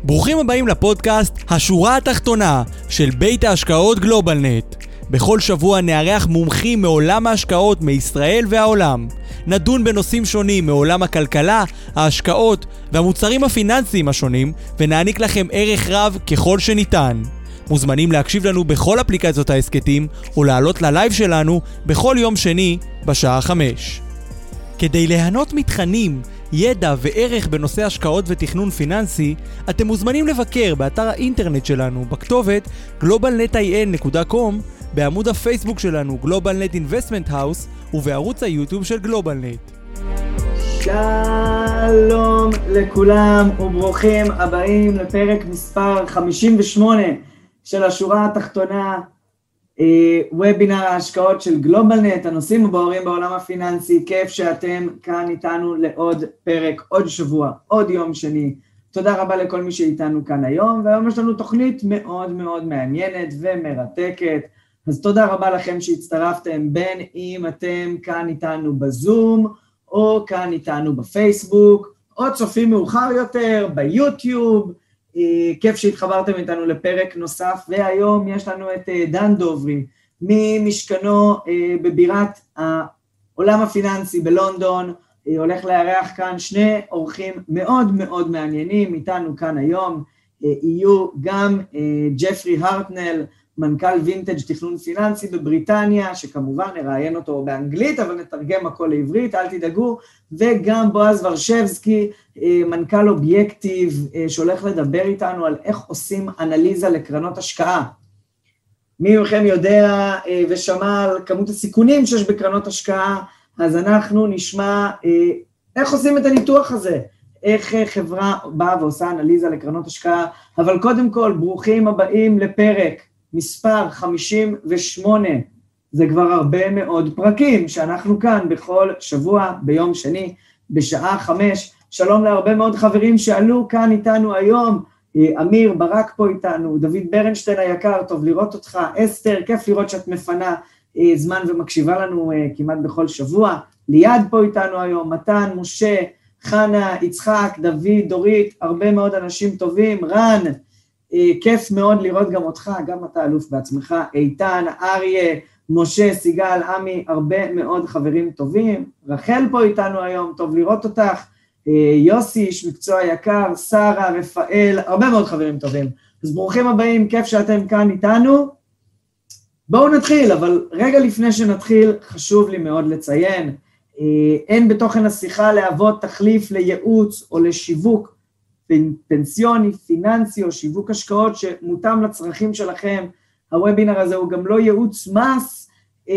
ברוכים הבאים לפודקאסט השורה התחתונה של בית ההשקעות גלובלנט. בכל שבוע נארח מומחים מעולם ההשקעות מישראל והעולם. נדון בנושאים שונים מעולם הכלכלה, ההשקעות והמוצרים הפיננסיים השונים, ונעניק לכם ערך רב ככל שניתן. מוזמנים להקשיב לנו בכל אפליקציות העסקתים, או לעלות ללייב שלנו בכל יום שני בשעה 5. כדי ליהנות מתכנים, ידע וערך בנושא השקעות ותכנון פיננסי, אתם מוזמנים לבקר באתר האינטרנט שלנו בכתובת globalnetin.com, בעמוד הפייסבוק שלנו GlobalNet Investment House ובערוץ היוטיוב של גלובלנט. שלום לכולם וברוכים הבאים לפרק מספר 58 של השורה התחתונה, וובינר ההשקעות של גלובלנט, הנושאים הבוערים בעולם הפיננסי. כיף שאתם כאן איתנו לעוד פרק, עוד שבוע, עוד יום שני. תודה רבה לכל מי שאיתנו כאן היום, והיום יש לנו תוכנית מאוד מאוד מעניינת ומרתקת, אז תודה רבה לכם שהצטרפתם, בין אם אתם כאן איתנו בזום, או כאן איתנו בפייסבוק, או צופים מאוחר יותר ביוטיוב. כיף שהתחברתם איתנו לפרק נוסף, והיום יש לנו את דן דוברי, ממשכנו בבירת העולם הפיננסי בלונדון. הולך לארח כאן שני אורחים מאוד מאוד מעניינים איתנו כאן היום. יהיו גם ג'פרי הרטנל, מנכ"ל וינטג' תכנון פיננסי בבריטניה, שכמובן נראיין אותו באנגלית, אבל נתרגם הכל לעברית, אל תדאגו, וגם בועז ורשבסקי, מנכ"ל אובייקטיב, שהולך לדבר איתנו על איך עושים אנליזה לקרנות השקעה. מי מכם יודע ושמע על כמות הסיכונים שיש בקרנות השקעה, אז אנחנו נשמע איך עושים את הניתוח הזה, איך חברה באה ועושה אנליזה לקרנות השקעה. אבל קודם כל, ברוכים הבאים לפרק מספר 58, זה כבר הרבה מאוד פרקים שאנחנו כאן בכל שבוע ביום שני בשעה 5. שלום להרבה מאוד חברים שעלו כאן איתנו היום, אמיר ברק פה איתנו, דוד ברנשטיין היקר, טוב לראות אותך, אסתר, כיף לראות שאת מפנה זמן ומקשיבה לנו כמעט בכל שבוע, ליד פה איתנו היום, מתן, משה, חנה, יצחק, דוד, דורית, הרבה מאוד אנשים טובים, רן, כיף מאוד לראות גם אותך, גם אתה אלוף בעצמך, איתן, אריה, משה, סיגל, עמי, הרבה מאוד חברים טובים, רחל פה איתנו היום, טוב לראות אותך, יוסי, איש מקצוע יקר, שרה, רפאל, הרבה מאוד חברים טובים. אז ברוכים הבאים, כיף שאתם כאן איתנו. בואו נתחיל, אבל רגע לפני שנתחיל, חשוב לי מאוד לציין, אין בתוכן השיחה להוות תחליף לייעוץ או לשיווק פנסיוני, פיננסי או שיווק השקעות שמותאם לצרכים שלכם. הוובינר הזה הוא גם לא ייעוץ מס,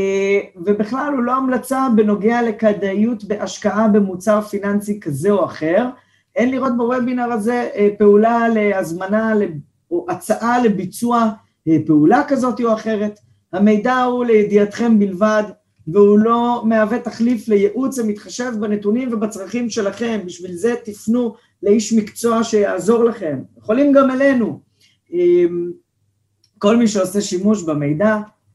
ובכלל הוא לא המלצה בנוגע לכדאיות בהשקעה במוצר פיננסי כזה או אחר. אין לראות בוובינר הזה פעולה להזמנה או הצעה לביצוע פעולה כזאת או אחרת. המידע הוא לידיעתכם בלבד, והוא לא מהווה תחליף לייעוץ המתחשב בנתונים ובצרכים שלכם. בשביל זה תפנו לאיש מקצוע שיעזור לכם. יכולים גם אלינו. כל מי שעושה שימוש במידע,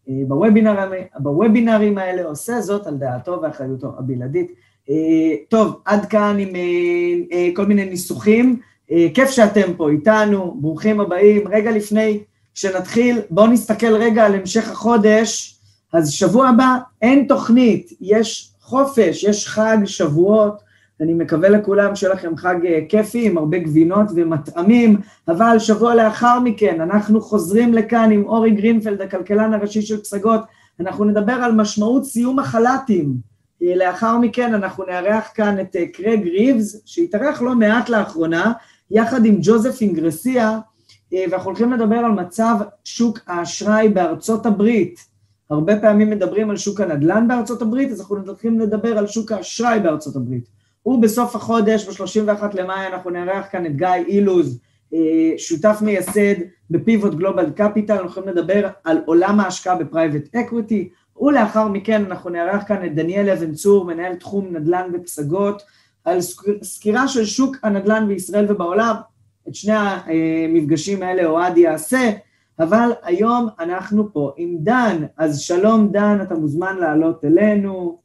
בוובינרים האלה, עושה זאת על דעתו ואחריותו הבלעדית. טוב, עד כאן עם כל מיני ניסוחים. כיף שאתם פה איתנו, ברוכים הבאים. רגע לפני שנתחיל, בואו נסתכל רגע על המשך החודש. אז שבוע הבא אין תוכנית, יש חופש, יש חג שבועות. אני מקווה לכולם שלכם חג כיפי, עם הרבה גבינות ומטעמים, אבל שבוע לאחר מכן אנחנו חוזרים לכאן עם אורי גרינפלד, הכלכלן הראשי של פסגות. אנחנו נדבר על משמעות סיום החל"תים. לאחר מכן אנחנו נארח כאן את קרג ריבס, שהתארח לא מעט לאחרונה, יחד עם ג'וזף אינגרסיה, ואנחנו הולכים לדבר על מצב שוק האשראי בארצות הברית. הרבה פעמים מדברים על שוק הנדל"ן בארצות הברית, אז אנחנו הולכים לדבר על שוק האשראי בארצות הברית. ובסוף החודש, ב-31 למאי, אנחנו נארח כאן את גיא אילוז, שותף מייסד בפיבוט גלובל קפיטל. אנחנו יכולים לדבר על עולם ההשקעה בפרייבט אקוויטי, ולאחר מכן אנחנו נארח כאן את דניאל אבן צור, מנהל תחום נדל"ן בפסגות, על סקירה של שוק הנדל"ן בישראל ובעולם. את שני המפגשים האלה אוהד יעשה, אבל היום אנחנו פה עם דן. אז שלום דן, אתה מוזמן לעלות אלינו.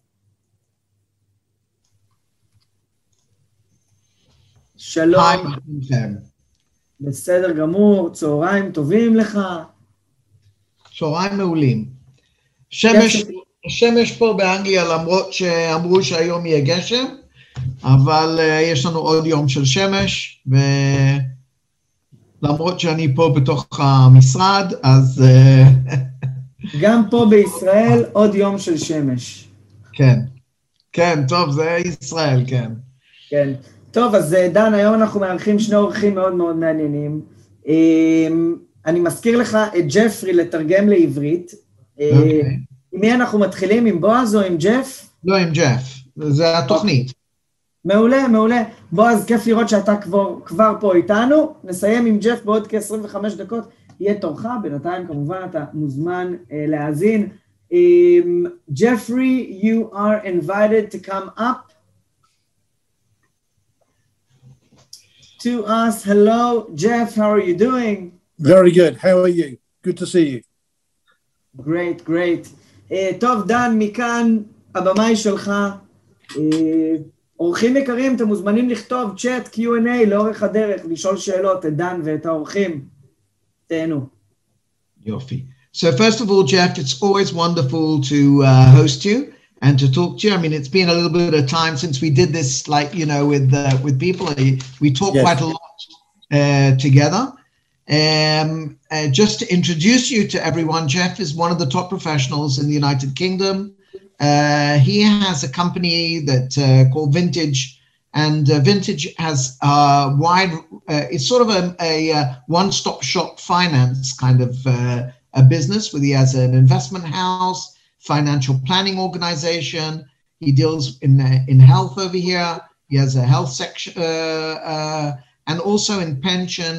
שלום. היי, בסדר גמור, צהריים טובים לך. צהריים מעולים. שמש פה באנגליה, למרות שאמרו שהיום יהיה גשם, אבל יש לנו עוד יום של שמש, ולמרות שאני פה בתוך המשרד, אז... גם פה בישראל עוד יום של שמש. כן, כן, טוב, זה ישראל, כן. כן. טוב, אז דן, היום אנחנו מארחים שני אורחים מאוד מאוד מעניינים. אני מזכיר לך את ג'פרי לתרגם לעברית. עם מי אנחנו מתחילים? עם בועז או עם ג'ף? לא, עם ג'ף. זה התוכנית. מעולה, מעולה. בועז, כיף לראות שאתה כבר פה איתנו. נסיים עם ג'ף בעוד כ-25 דקות. יהיה תורך, בינתיים כמובן אתה מוזמן להאזין. Jeffrey, you are invited to come up to us. Hello, Jeff, how are you doing? Very good. How are you? Good to see you. Great, great. טוב, דן, מכאן הבמאי שלך. אורחים יקרים, אתם מוזמנים לכתוב צ'אט, Q&A לאורך הדרך, לשאול שאלות את דן ואת האורחים. תהנו. יופי. So first of all, Jeff, it's always wonderful to host you and to talk to you. I mean, it's been a little bit of time since we did this, like, you know, with people. We talk quite a lot together. Just to introduce you to everyone, Jeff is one of the top professionals in the United Kingdom. He has a company that called Vintage, and Vintage has wide, it's sort of a one-stop shop finance kind of a business, where he has an investment house, financial planning organization. He deals in health over here. He has a health section, and also in pension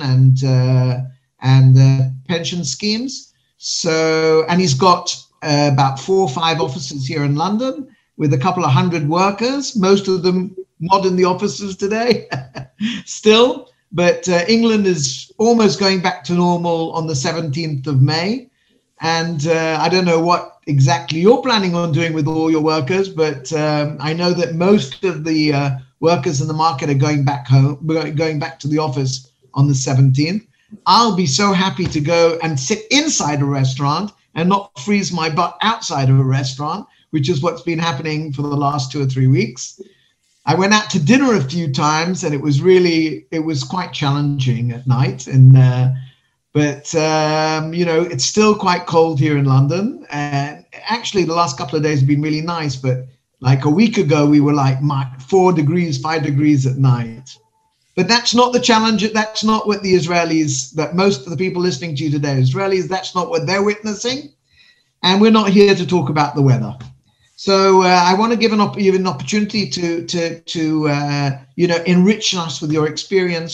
and pension schemes. So, and he's got about 4 or 5 offices here in London with a couple of 100 workers, most of them not in the offices today, still. But England is almost going back to normal on the 17th of May. And I don't know what exactly you're planning on doing with all your workers, but I know that most of the workers in the market are going back home, going back to the office on the 17th. I'll be so happy to go and sit inside a restaurant and not freeze my butt outside of a restaurant, which is what's been happening for the last 2 or 3 weeks. I went out to dinner a few times, and it was quite challenging at night. And but you know, it's still quite cold here in London. And actually, the last couple of days have been really nice. But like a week ago, we were like 4 degrees, 5 degrees at night. But that's not the challenge. That's not what the Israelis, that most of the people listening to you today, Israelis, that's not what they're witnessing. And we're not here to talk about the weather. So I want to give you an opportunity to you know, enrich us with your experience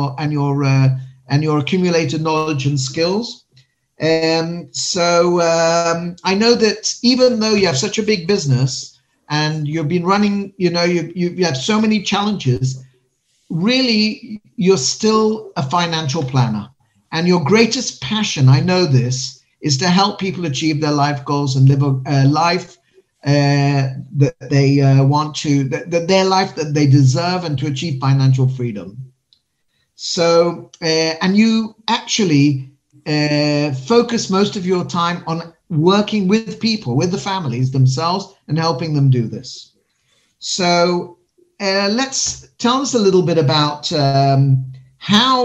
and your accumulated knowledge and skills. So I know that even though you have such a big business and you've been running, you know, you have so many challenges, really you're still a financial planner. And your greatest passion, I know this, is to help people achieve their life goals and live a life that they want to, that their life that they deserve, and to achieve financial freedom. So, and you actually focus most of your time on working with people, with the families themselves, and helping them do this. So let's tell us a little bit about how,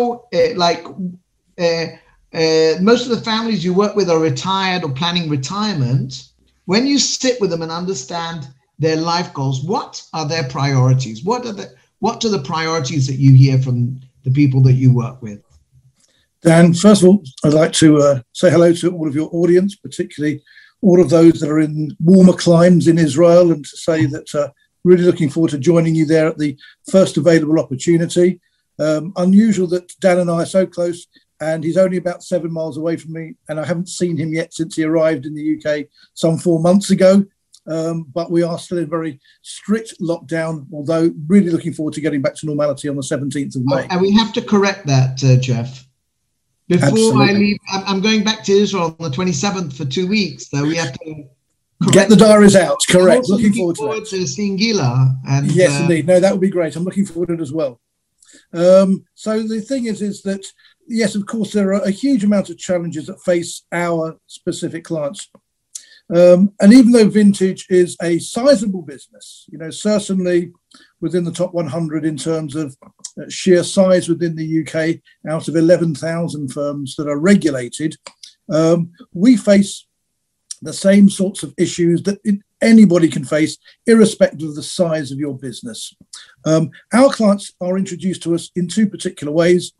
most of the families you work with are retired or planning retirement. When you sit with them and understand their life goals, what are their priorities? What are the priorities that you hear from the people that you work with? Dan, first of all, I'd like to say hello to all of your audience, particularly all of those that are in warmer climes in Israel, and to say that really looking forward to joining you there at the first available opportunity. Unusual that Dan and I are so close, and he's only about 7 miles away from me, and I haven't seen him yet since he arrived in the UK some 4 months ago. But we are still in very strict lockdown, although really looking forward to getting back to normality on the 17th of May. And we have to correct that, Jeff. Before I leave, I'm going back to Israel on the 27th for 2 weeks, so we have to get the diaries out. Correct. Looking forward to seeing Gila. And, yes, indeed. No, that would be great. I'm looking forward to it as well. So the thing is that, yes, of course, there are a huge amount of challenges that face our specific clients. And even though Vintage is a sizable business, certainly within the top 100 in terms of sheer size within the UK, out of 11,000 firms that are regulated, we face the same sorts of issues that anybody can face, irrespective of the size of your business. Our clients are introduced to us in two particular ways.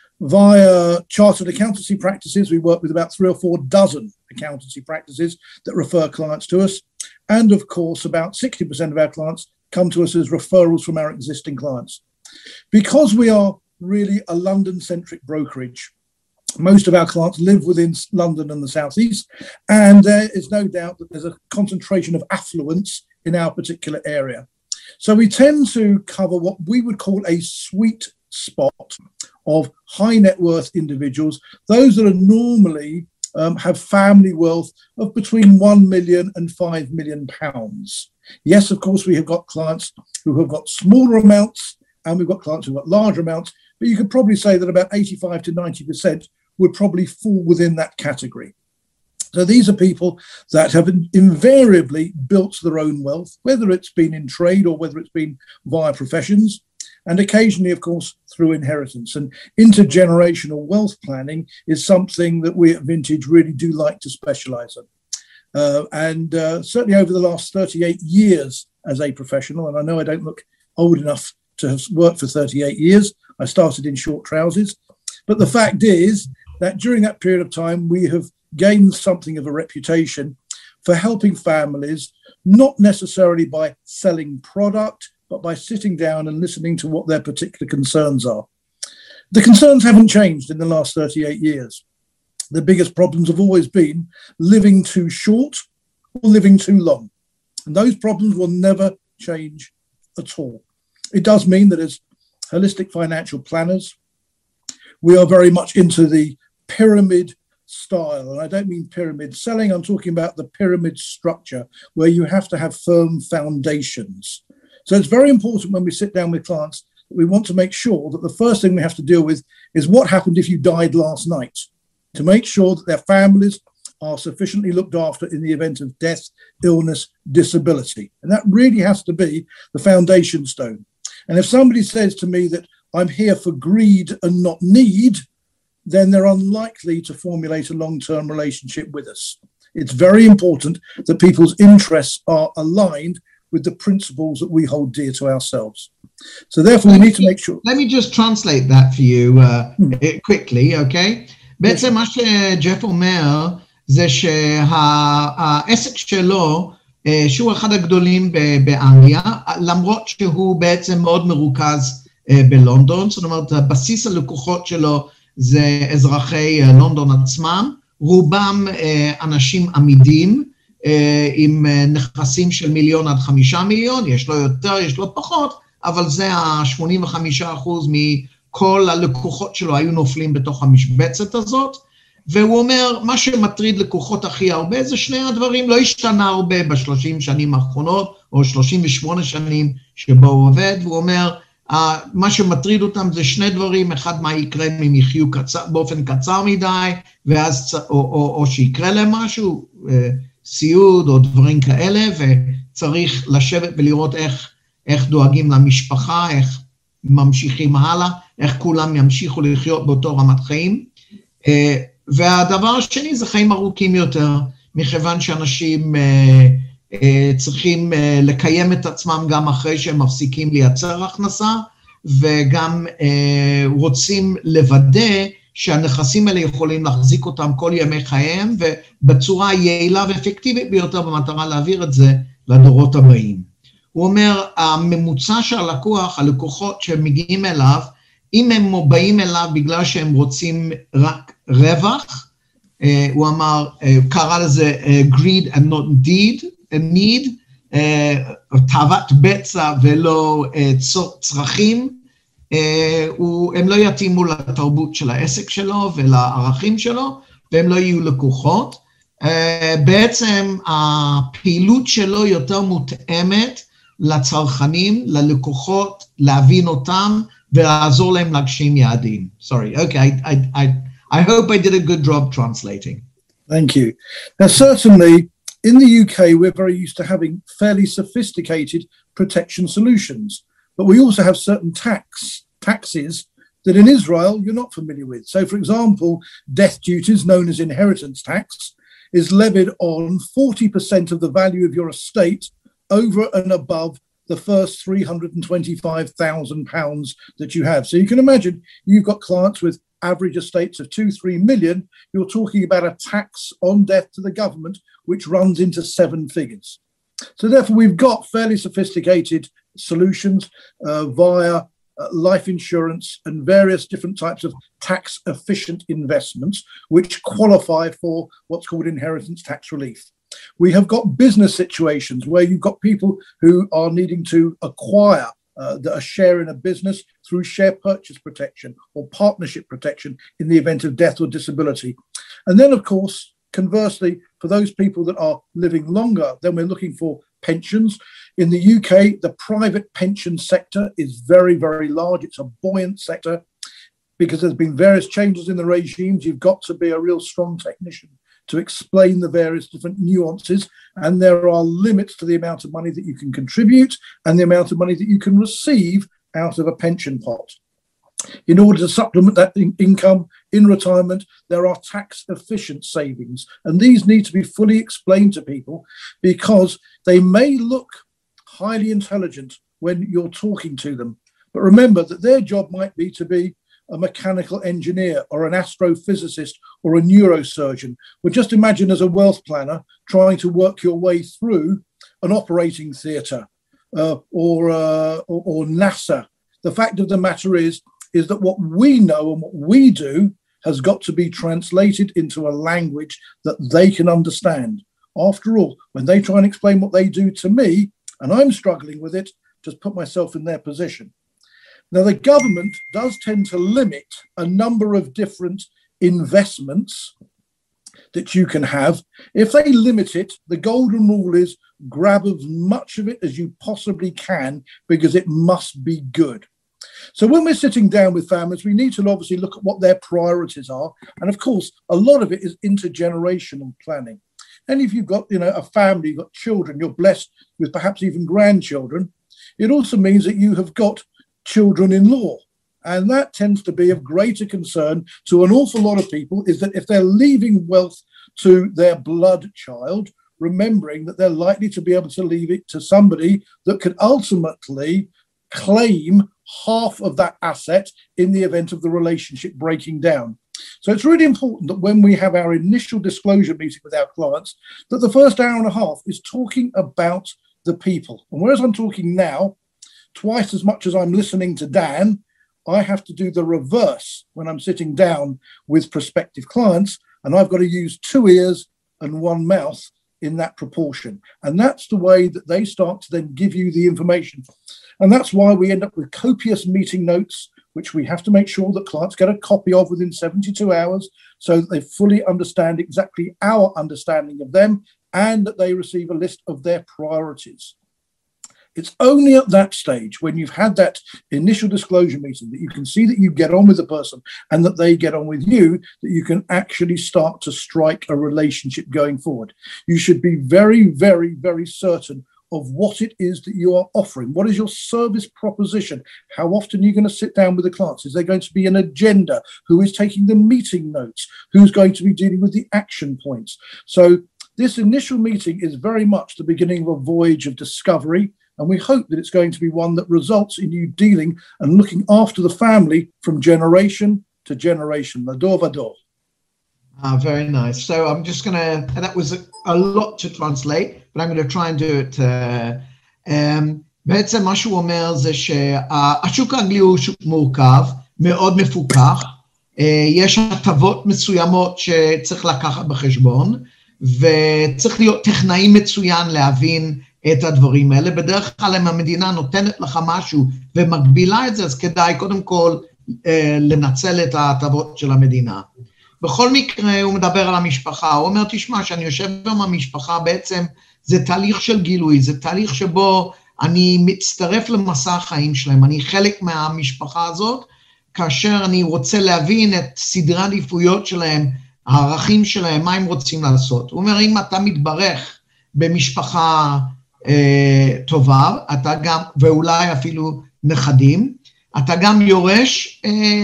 Via chartered accountancy practices, we work with about 3 or 4 dozen accountancy practices that refer clients to us. And of course, about 60% of our clients come to us as referrals from our existing clients. Because we are really a London-centric brokerage, most of our clients live within London and the South East, and there is no doubt that there's a concentration of affluence in our particular area. So we tend to cover what we would call a sweet spot of high net worth individuals, those that are normally have family wealth of between 1 million and 5 million pounds. Yes, of course, we have got clients who have got smaller amounts, and we've got clients who've got larger amounts, but you could probably say that about 85 to 90% would probably fall within that category. So these are people that have invariably built their own wealth, whether it's been in trade or whether it's been via professions, and occasionally, of course, through inheritance. And intergenerational wealth planning is something that we at Vintage really do like to specialise in. And certainly over the last 38 years as a professional, and I know I don't look old enough to have worked for 38 years, I started in short trousers, but the fact is that during that period of time, we have gained something of a reputation for helping families, not necessarily by selling product, but by sitting down and listening to what their particular concerns are. The concerns haven't changed in the last 38 years. The biggest problems have always been living too short or living too long. And those problems will never change at all. It does mean that as holistic financial planners, we are very much into the pyramid style. And I don't mean pyramid selling, I'm talking about the pyramid structure where you have to have firm foundations. So it's very important when we sit down with clients that we want to make sure that the first thing we have to deal with is what happened if you died last night, to make sure that their families are sufficiently looked after in the event of death, illness, disability. And that really has to be the foundation stone. And if somebody says to me that I'm here for greed and not need, then they're unlikely to formulate a long-term relationship with us. It's very important that people's interests are aligned with the principles that we hold dear to ourselves. So therefore, we need to make sure... Let me just translate that for you quickly, okay? בעצם מה שג'ף אומר זה שהעסק שלו, שהוא אחד הגדולים באנגליה, למרות שהוא בעצם מאוד מרוכז בלונדון, זאת אומרת, בסיס הלקוחות שלו זה אזרחי לונדון עצמם, רובם אנשים עמידים, עם נכסים של 1 מיליון עד 5 מיליון, יש לו יותר, יש לו פחות, אבל זה ה-85% מכל הלקוחות שלו היו נופלים בתוך המשבצת הזאת, והוא אומר, מה שמטריד לקוחות הכי הרבה זה שני הדברים, לא השתנה הרבה ב-30 שנים האחרונות, או 38 שנים שבו הוא עובד, והוא אומר, מה שמטריד אותם זה שני דברים, אחד מה יקרה אם הם יחיו באופן קצר מדי, ואז, או שיקרה להם משהו, סיוד או דברים כאלה, וצריך לשבת ולראות איך דואגים למשפחה, איך ממשיכים הלאה, איך כולם ימשיכו לחיות באותו רמת חיים. והדבר השני זה חיים ארוכים יותר, מכיוון שאנשים צריכים לקיים את עצמם גם אחרי שהם מפסיקים לייצר הכנסה, וגם רוצים לוודא שהנכסים האלה יכולים להחזיק אותם כל ימי חייהם, ובצורה יעילה ואפקטיבית ביותר במטרה להעביר את זה לדורות הבאים. הוא אומר, הממוצע של הלקוחות שמגיעים אליו, אם הם באים אליו בגלל שהם רוצים רק רווח, הוא אמר, קרא לזה greed and not need, תאוות בצע ולא צרכים, הם לא יתאימו לתרבות של העסק שלו ולערכים שלו, והם לא יהיו לקוחות. בעצם הפעילות שלו יותר מותאמת לצרכנים, ללקוחות, להבין אותם ולעזור להם להגשים יעדים. Sorry, okay, I hope I did a good job translating. Thank you. Now, certainly, in the UK, we're very used to having fairly sophisticated protection solutions, but we also have certain taxes that in Israel you're not familiar with. So, for example, death duties, known as inheritance tax, is levied on 40% of the value of your estate over and above the first £325,000 that you have. So you can imagine you've got clients with average estates of 2-3 million. You're talking about a tax on death to the government, which runs into 7 figures. So therefore, we've got fairly sophisticated solutions via life insurance and various different types of tax efficient investments, which qualify for what's called inheritance tax relief. We have got business situations where you've got people who are needing to acquire a share in a business through share purchase protection or partnership protection in the event of death or disability. And then, of course, conversely, for those people that are living longer, then we're looking for pensions. In the UK, the private pension sector is very, very large. It's a buoyant sector because there's been various changes in the regimes. You've got to be a real strong technician to explain the various different nuances, and there are limits to the amount of money that you can contribute and the amount of money that you can receive out of a pension pot. In order to supplement that income in retirement, there are tax efficient savings, and these need to be fully explained to people because they may look highly intelligent when you're talking to them, but remember that their job might be to be a mechanical engineer or an astrophysicist or a neurosurgeon. Well, just imagine as a wealth planner trying to work your way through an operating theatre or NASA. The fact of the matter is that what we know and what we do has got to be translated into a language that they can understand. After all, when they try and explain what they do to me, and I'm struggling with it, just put myself in their position. Now, the government does tend to limit a number of different investments that you can have. If they limit it, the golden rule is grab as much of it as you possibly can because it must be good. So when we're sitting down with families, we need to obviously look at what their priorities are. And of course, a lot of it is intergenerational planning. And if you've got, a family, you've got children, you're blessed with perhaps even grandchildren, it also means that you have got children-in-law. And that tends to be of greater concern to an awful lot of people, is that if they're leaving wealth to their blood child, remembering that they're likely to be able to leave it to somebody that could ultimately claim half of that asset in the event of the relationship breaking down. So it's really important that when we have our initial disclosure meeting with our clients, that the first hour and a half is talking about the people. And whereas I'm talking now, twice as much as I'm listening to Dan, I have to do the reverse when I'm sitting down with prospective clients, and I've got to use 2 ears and 1 mouth in that proportion. And that's the way that they start to then give you the information. And that's why we end up with copious meeting notes, which we have to make sure that clients get a copy of within 72 hours so that they fully understand exactly our understanding of them and that they receive a list of their priorities. It's only at that stage, when you've had that initial disclosure meeting, that you can see that you get on with the person and that they get on with you, that you can actually start to strike a relationship going forward. You should be very, very, very certain of what it is that you are offering. What is your service proposition? How often are you going to sit down with the clients? Is there going to be an agenda? Who is taking the meeting notes? Who's going to be dealing with the action points? So this initial meeting is very much the beginning of a voyage of discovery. And we hope that it's going to be one that results in you dealing and looking after the family from generation to generation, Lador Vador. Very nice. So I'm just going to, that was a lot to translate, but I'm going to try and do it. בעצם מה שהוא אומר זה שהשוק האנגלי הוא שוק מורכב, מאוד מפוקח, יש הטבות מסוימות שצריך לקחת בחשבון, וצריך להיות טכנאי מצוין להבין את הדברים האלה. בדרך כלל אם המדינה נותנת לך משהו ומגבילה את זה, אז כדאי קודם כל לנצל את ההטבות של המדינה. בכל מקרה הוא מדבר על המשפחה, הוא אומר תשמע שאני יושב עם המשפחה בעצם זה תהליך של גילוי, זה תהליך שבו אני מצטרף למסע החיים שלהם, אני חלק מהמשפחה הזאת, כאשר אני רוצה להבין את סדרי העדיפויות שלהם, הערכים שלהם, מה הם רוצים לעשות. הוא אומר, אם אתה מתברך במשפחה טובה, אתה גם, ואולי אפילו נכדים, אתה גם יורש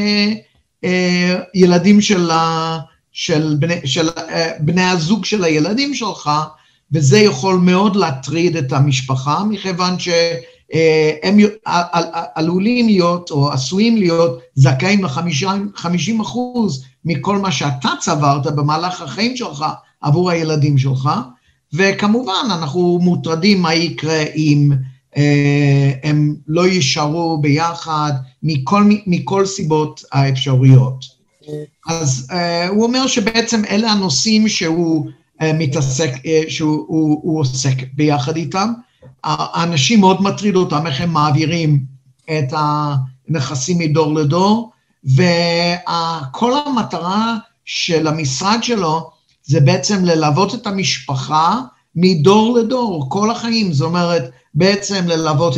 ילדים של בני הזוג של הילדים שלך, וזה יכול מאוד להטריד את המשפחה, מכיוון שהם עלולים להיות, או עשויים להיות, זכאים ל50% מכל מה שאתה צברת במהלך החיים שלך, עבור הילדים שלך, וכמובן אנחנו מוטרדים מה יקרה אם הם לא יישארו ביחד, מכל סיבות האפשריות. אז הוא אומר שבעצם אלה הנושאים שהוא מתעסק, שהוא עוסק ביחד איתם. האנשים מאוד מטריד אותם, איך הם מעבירים את הנכסים מדור לדור, וכל המטרה של המשרד שלו, זה בעצם ללוות את המשפחה מדור לדור, כל החיים. זאת אומרת, בעצם ללוות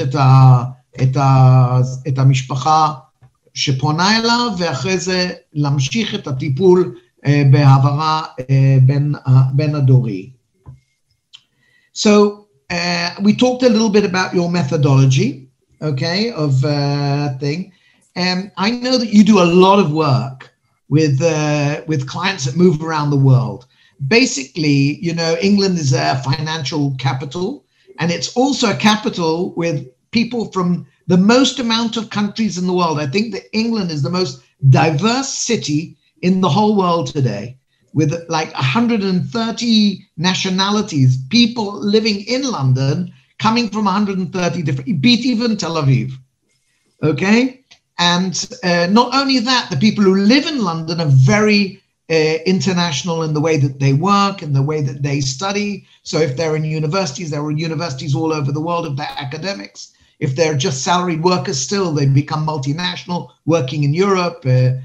את המשפחה שפונה אליו, ואחרי זה להמשיך את הטיפול בהעברה בין הדורי. So, we talked a little bit about your methodology, okay, of thing. I know that you do a lot of work with clients that move around the world. Basically, you know, England is a financial capital, and it's also a capital with people from the most amount of countries in the world. I think that England is the most diverse city in the whole world today, with like 130 nationalities, people living in London, coming from 130 different, beat even Tel Aviv, okay? And not only that, the people who live in London are very international in the way that they work and the way that they study. So if they're in universities, there are universities all over the world of their academics. If they're just salaried workers still, they become multinational, working in Europe,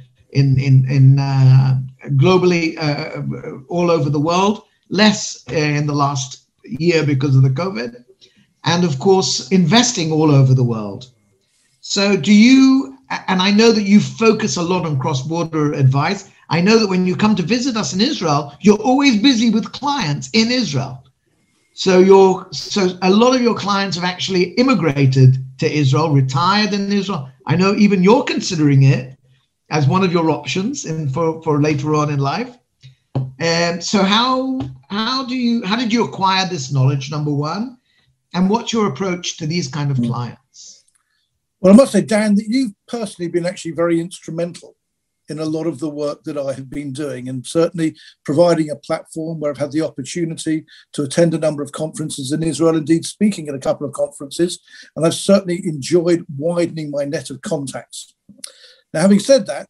globally, all over the world, less in the last year because of the COVID, and of course, investing all over the world. So do you, and I know that you focus a lot on cross-border advice. I know that when you come to visit us in Israel, you're always busy with clients in Israel. So a lot of your clients have actually immigrated to Israel, retired in Israel. I know even you're considering it as one of your options for later on in life. So how did you acquire this knowledge, number one? And what's your approach to these kind of clients? Well, I must say, Dan, that you've personally been actually very instrumental in a lot of the work that I have been doing, and certainly providing a platform where I've had the opportunity to attend a number of conferences in Israel, indeed speaking at a couple of conferences, and I've certainly enjoyed widening my net of contacts. Now, having said that,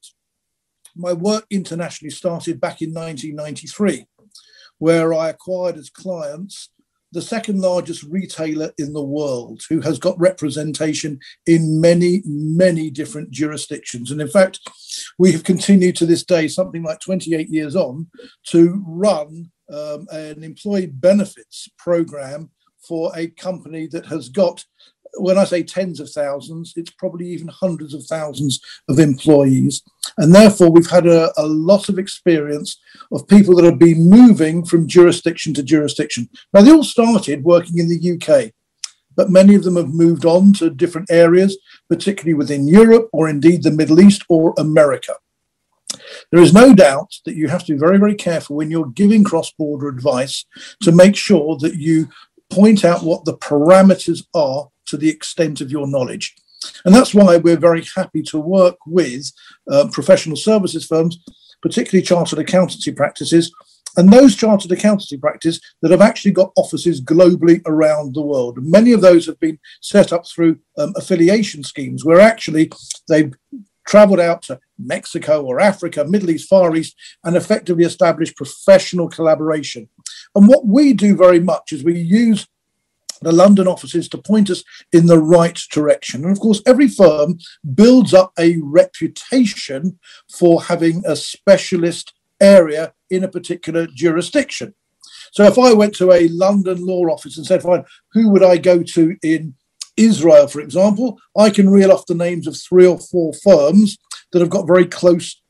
my work internationally started back in 1993, where I acquired as clients the second largest retailer in the world, who has got representation in many, many different jurisdictions. And in fact, we have continued to this day, something like 28 years on, to run an employee benefits program for a company that has got, when I say tens of thousands, it's probably even hundreds of thousands of employees. And therefore, we've had a lot of experience of people that have been moving from jurisdiction to jurisdiction. Now, they all started working in the UK, but many of them have moved on to different areas, particularly within Europe or indeed the Middle East or America. There is no doubt that you have to be very, very careful when you're giving cross-border advice to make sure that you point out what the parameters are to the extent of your knowledge. And that's why we're very happy to work with professional services firms, particularly chartered accountancy practices, and those chartered accountancy practices that have actually got offices globally around the world. Many of those have been set up through affiliation schemes where actually they've traveled out to Mexico or Africa, Middle East, Far East, and effectively established professional collaboration. And what we do very much is we use the London offices to point us in the right direction. And of course, every firm builds up a reputation for having a specialist area in a particular jurisdiction. So if I went to a London law office and said, fine, who would I go to in Israel, for example, I can reel off the names of 3 or 4 firms that have got very close,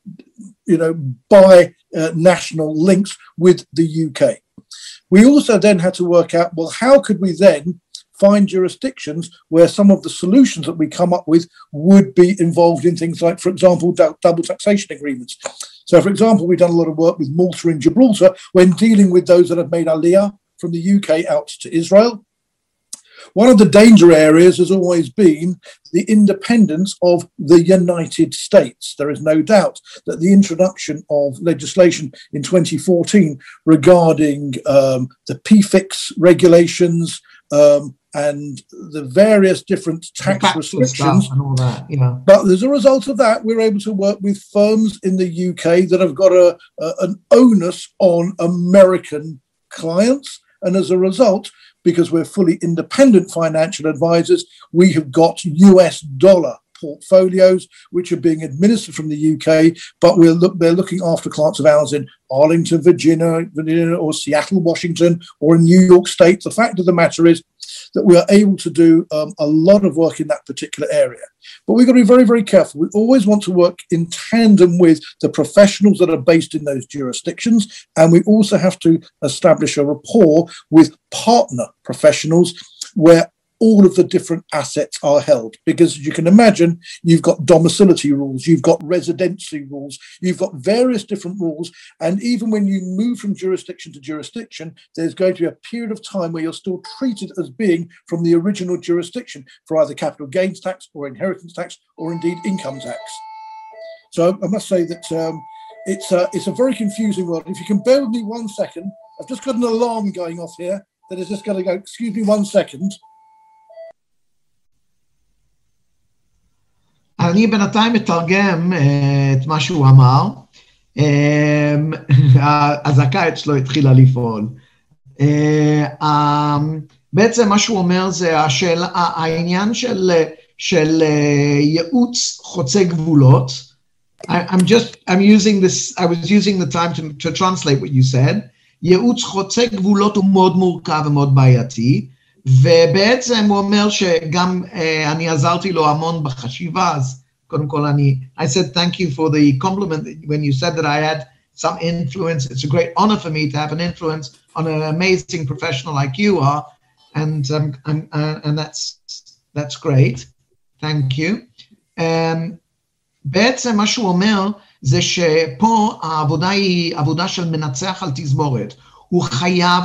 national links with the UK. We also then had to work out, well, how could we then find jurisdictions where some of the solutions that we come up with would be involved in things like, for example, double taxation agreements. So, for example, we've done a lot of work with Malta and Gibraltar when dealing with those that have made Aliyah from the UK out to Israel. One of the danger areas has always been the independence of the United States. There is no doubt that the introduction of legislation in 2014 regarding the PFIX regulations and the various different tax restrictions and all that, But as a result of that, we're able to work with firms in the UK that have got an onus on American clients. And as a result, because we're fully independent financial advisors, we have got US dollar portfolios which are being administered from the UK, but they're looking after clients of ours in Arlington, Virginia, or Seattle, Washington, or in New York State. The fact of the matter is that we are able to do a lot of work in that particular area. But we've got to be very, very careful. We always want to work in tandem with the professionals that are based in those jurisdictions. And we also have to establish a rapport with partner professionals where all of the different assets are held. Because as you can imagine, you've got domicility rules, you've got residency rules, you've got various different rules. And even when you move from jurisdiction to jurisdiction, there's going to be a period of time where you're still treated as being from the original jurisdiction for either capital gains tax or inheritance tax or indeed income tax. So I must say that it's a very confusing world. If you can bear with me 1 second, I've just got an alarm going off here that is just going to go, excuse me 1 second. אני בינתיים מתרגם את מה שהוא אמר, הזעקה אצלו התחילה לפעול. בעצם מה שהוא אומר זה העניין של ייעוץ חוצה גבולות. I was using the time to translate what you said. ייעוץ חוצה גבולות הוא מאוד מורכב ומאוד בעייתי. ובעצם הוא אומר שגם אני עזרתי לו המון בחשיבה, אז קודם כל I said thank you for the compliment when you said that I had some influence. It's a great honor for me to have an influence on an amazing professional like you are, and that's great. Thank you. בעצם מה שהוא אומר זה שפה העבודה היא עבודה של מנצח על תזמורת. הוא חייב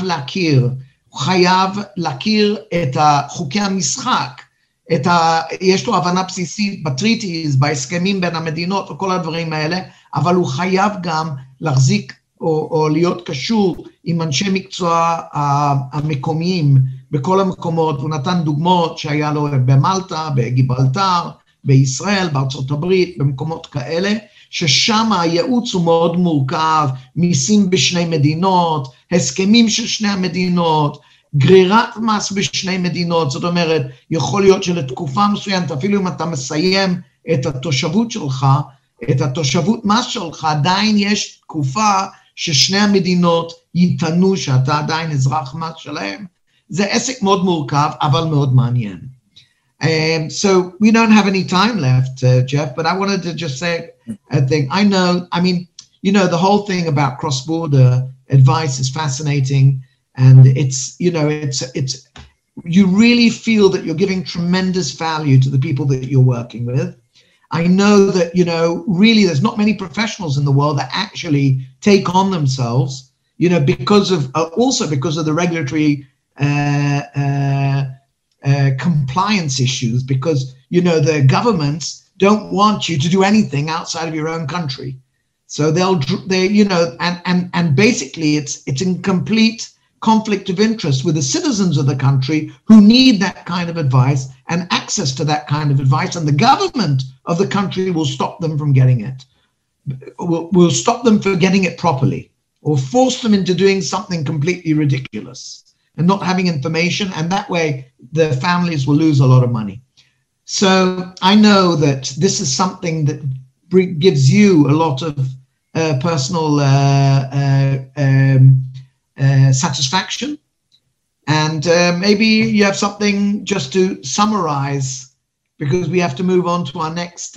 להכיר את חוקי המשחק, יש לו הבנה בסיסית בטריטיז, בהסכמים בין המדינות וכל הדברים האלה, אבל הוא חייב גם להחזיק או להיות קשור עם אנשי מקצוע המקומיים בכל המקומות. הוא נתן דוגמאות שהיה לו במלטה, בגיברלטר, בישראל, בארצות הברית, במקומות כאלה, ששם הייעוץ הוא מאוד מורכב, מיסים בשני מדינות, הסכמים של שני המדינות, גרירת מס בשני מדינות. זאת אומרת, יכול להיות שלתקופה מסוימת, אפילו אם אתה מסיים את התושבות שלך, את התושבות מס שלך, עדיין יש תקופה ששני המדינות יטענו שאתה עדיין אזרח מס שלהם. זה עסק מאוד מורכב, אבל מאוד מעניין. So we don't have any time left, Jeff, but I wanted to just say a thing. The whole thing about cross-border advice is fascinating, and it's you really feel that you're giving tremendous value to the people that you're working with. I know that, really there's not many professionals in the world that actually take on themselves, because of the regulatory compliance issues, because the governments don't want you to do anything outside of your own country, so and basically it's in complete conflict of interest with the citizens of the country who need that kind of advice and access to that kind of advice, and the government of the country will stop them from getting it, will stop them from getting it properly, or force them into doing something completely ridiculous and not having information, and that way the families will lose a lot of money. So I know that this is something that gives you a lot of personal satisfaction. And maybe you have something just to summarize, because we have to move on to our next.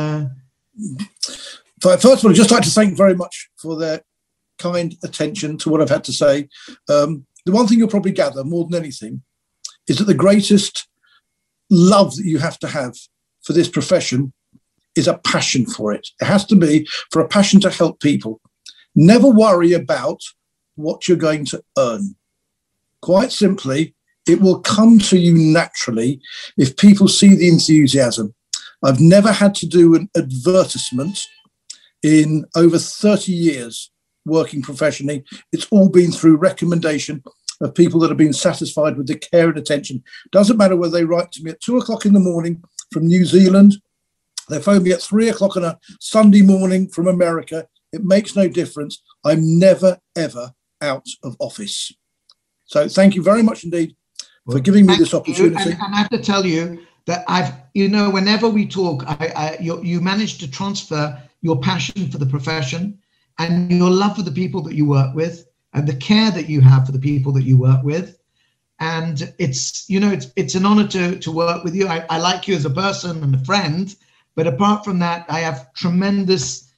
First of all, I'd just like to thank very much for their kind attention to what I've had to say. The one thing you'll probably gather more than anything is that the greatest love that you have to have for this profession is a passion for it. It has to be for a passion to help people. Never worry about what you're going to earn. Quite simply, it will come to you naturally if people see the enthusiasm. I've never had to do an advertisement in over 30 years working professionally. It's all been through recommendation of people that have been satisfied with the care and attention. Doesn't matter whether they write to me at 2 o'clock in the morning from New Zealand, they phone me at 3 o'clock on a Sunday morning from America. It makes no difference. I'm never, ever out of office. So thank you very much indeed for giving me this opportunity. And I have to tell you that whenever we talk, you manage to transfer your passion for the profession and your love for the people that you work with and the care that you have for the people that you work with. And it's an honor to work with you. I like you as a person and a friend, but apart from that, I have tremendous,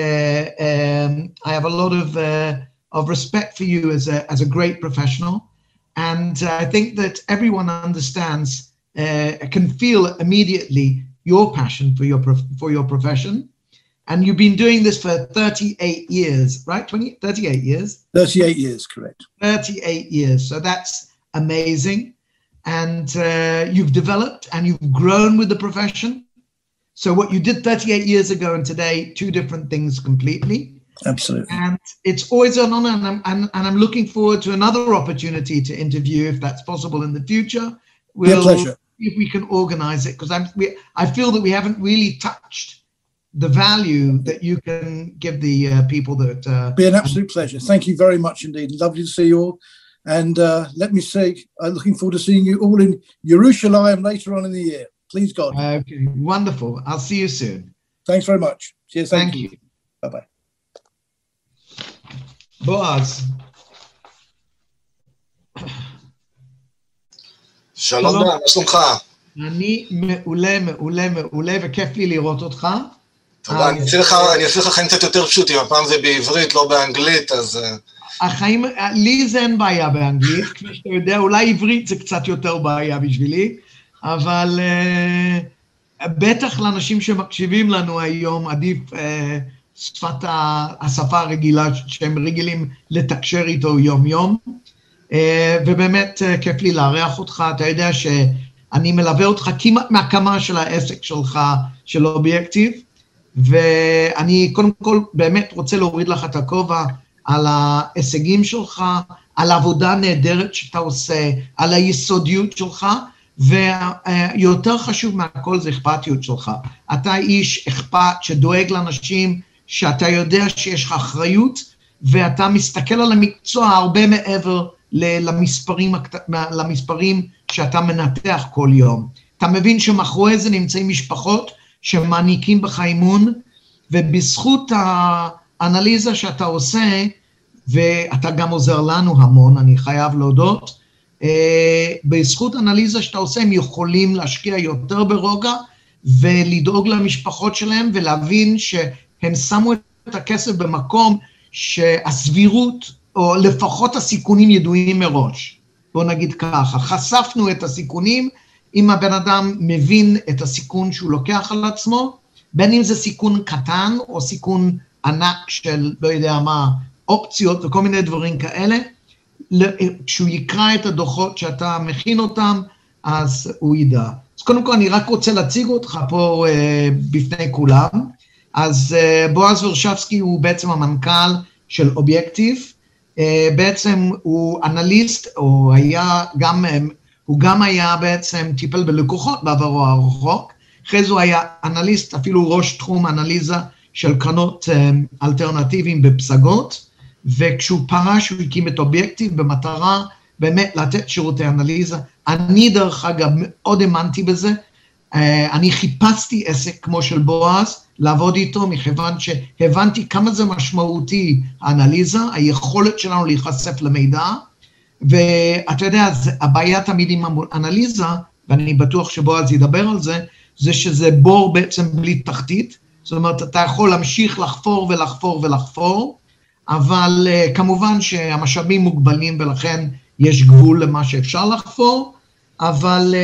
I have a lot of respect for you as a great professional. And I think that everyone understands, can feel immediately your passion for your profession. And you've been doing this for 38 years, right? 38 years? 38 years, correct. 38 years. So that's amazing. And you've developed and you've grown with the profession. So what you did 38 years ago and today, two different things completely. Absolutely. And it's always an honor, and I'm looking forward to another opportunity to interview, if that's possible in the future. We'll see if we can organize it, because I feel that we haven't really touched the value that you can give the people that... be an absolute pleasure. Thank you very much indeed. Lovely to see you all. And let me say, I'm looking forward to seeing you all in Jerusalem later on in the year. Please God. Okay, wonderful. I'll see you soon. Thanks very much. Cheers. Thank you. Bye-bye. בועז. שלום, מה שלומך? אני מעולה, וכיף לי לראות אותך. תודה, אני אעשה לך חיים קצת יותר פשוטים, הפעם זה בעברית, לא באנגלית, אז... החיים, לי זה אין בעיה באנגלית, כפי שאתה יודע, אולי עברית זה קצת יותר בעיה בשבילי, אבל בטח לאנשים שמקשיבים לנו היום, עדיף השפה הרגילה שהם רגילים לתקשר איתו יום-יום, ובאמת כיף לי לארח אותך. אתה יודע שאני מלווה אותך כמעט מהקמה של העסק שלך, של אובייקטיב, ואני קודם כל באמת רוצה להוריד לך את הכובע על ההישגים שלך, על העבודה נהדרת שאתה עושה, על היסודיות שלך, ויותר חשוב מהכל זה אכפתיות שלך. אתה איש אכפת שדואג לאנשים, שאתה יודע שיש לך אחריות, ואתה מסתכל על המקצוע הרבה מעבר למספרים שאתה מנתח כל יום. אתה מבין שמאחורי זה נמצאים משפחות שמעניקים בך אימון, ובזכות האנליזה שאתה עושה, ואתה גם עוזר לנו המון, אני חייב להודות, בזכות האנליזה שאתה עושה, הם יכולים להשקיע יותר ברוגע, ולדאוג למשפחות שלהם, ולהבין שהם שמו את הכסף במקום שהסבירות, או לפחות הסיכונים ידועים מראש. בוא נגיד ככה, חשפנו את הסיכונים, אם הבן אדם מבין את הסיכון שהוא לוקח על עצמו, בין אם זה סיכון קטן, או סיכון ענק של, לא יודע מה, אופציות וכל מיני דברים כאלה, כשהוא יקרא את הדוחות שאתה מכין אותם, אז הוא ידע. אז קודם כל אני רק רוצה להציג אותך פה בפני כולם. אז בועז ורשבסקי הוא בעצם המנכ"ל של אובייקטיב, בעצם הוא אנליסט, הוא גם היה בעצם טיפל בלקוחות בעברו הרחוק, אחרי זה הוא היה אנליסט, אפילו ראש תחום אנליזה של קרנות אלטרנטיביים בפסגות, וכשהוא פרש הוא הקים את אובייקטיב במטרה באמת לתת שירותי אנליזה. אני דרך אגב מאוד האמנתי בזה, אני חיפשתי עסק כמו של בועז, לעבוד איתו, מכיוון שהבנתי כמה זה משמעותי האנליזה, היכולת שלנו להיחשף למידע, ואתה יודע, הבעיה תמיד עם אנליזה, ואני בטוח שבועז ידבר על זה, זה שזה בור בעצם בלי תחתית, זאת אומרת, אתה יכול להמשיך לחפור ולחפור ולחפור, אבל כמובן שהמשאבים מוגבלים ולכן יש גבול למה שאפשר לחפור, אבל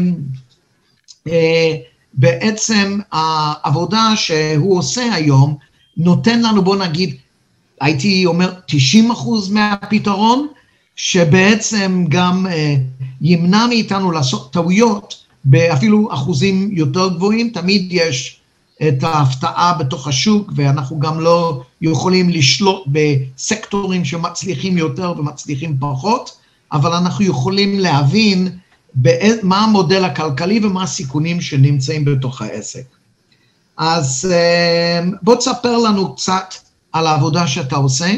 בעצם העבודה שהוא עושה היום, נותן לנו, בוא נגיד, הייתי אומר 90% מהפתרון, שבעצם גם ימנע מאיתנו לעשות טעויות, באפילו אחוזים יותר גבוהים, תמיד יש את ההפתעה בתוך השוק, ואנחנו גם לא יכולים לשלוט בסקטורים שמצליחים יותר ומצליחים פחות, אבל אנחנו יכולים להבין מה המודל הכלכלי ומה הסיכונים שנמצאים בתוך העסק. אז בוא תספר לנו קצת על העבודה שאתה עושה,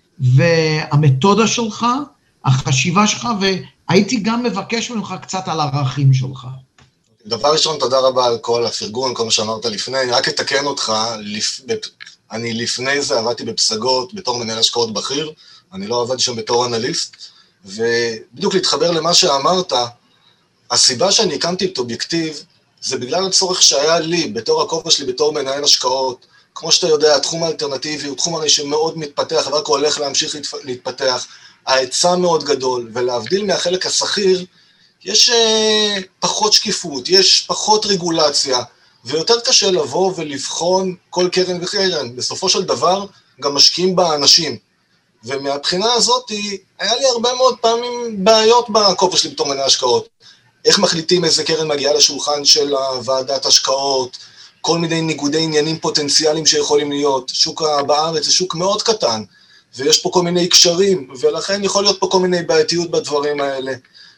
והמתודה שלך, החשיבה שלך, והייתי גם מבקש ממך קצת על הערכים שלך. דבר ראשון, תודה רבה על כל הפרגון, כל מה שאמרת לפני. רק אתקן אותך, אני לפני זה עבדתי בפסגות, בתור מנהל השקעות בכיר, אני לא עבדתי שם בתור אנליסט, ובדיוק להתחבר למה שאמרת, הסיבה שאני הקמתי את אובייקטיב, זה בגלל הצורך שהיה לי, בתור הכובע שלי, בתור מנהל השקעות. כמו שאתה יודע, התחום האלטרנטיבי הוא תחום הרי שמאוד מתפתח, ורק הולך להמשיך להתפתח, ההיצע מאוד גדול, ולהבדיל מהחלק השכיר, יש פחות שקיפות, יש פחות רגולציה, ויותר קשה לבוא ולבחון כל קרן וקרן. בסופו של דבר, גם משקיעים באנשים. ומהבחינה הזאת, היה לי הרבה מאוד פעמים בעיות בכובע שלי בתור מנהל השקעות. איך מחליטים איזה קרן מגיעה לשולחן של ועדת השקעות, כל מיני ניגודי עניינים פוטנציאליים שיכולים להיות. שוק בארץ זה שוק מאוד קטן, ויש פה כל מיני קשרים, ולכן יכול להיות פה כל מיני בעייתיות בדברים האלה.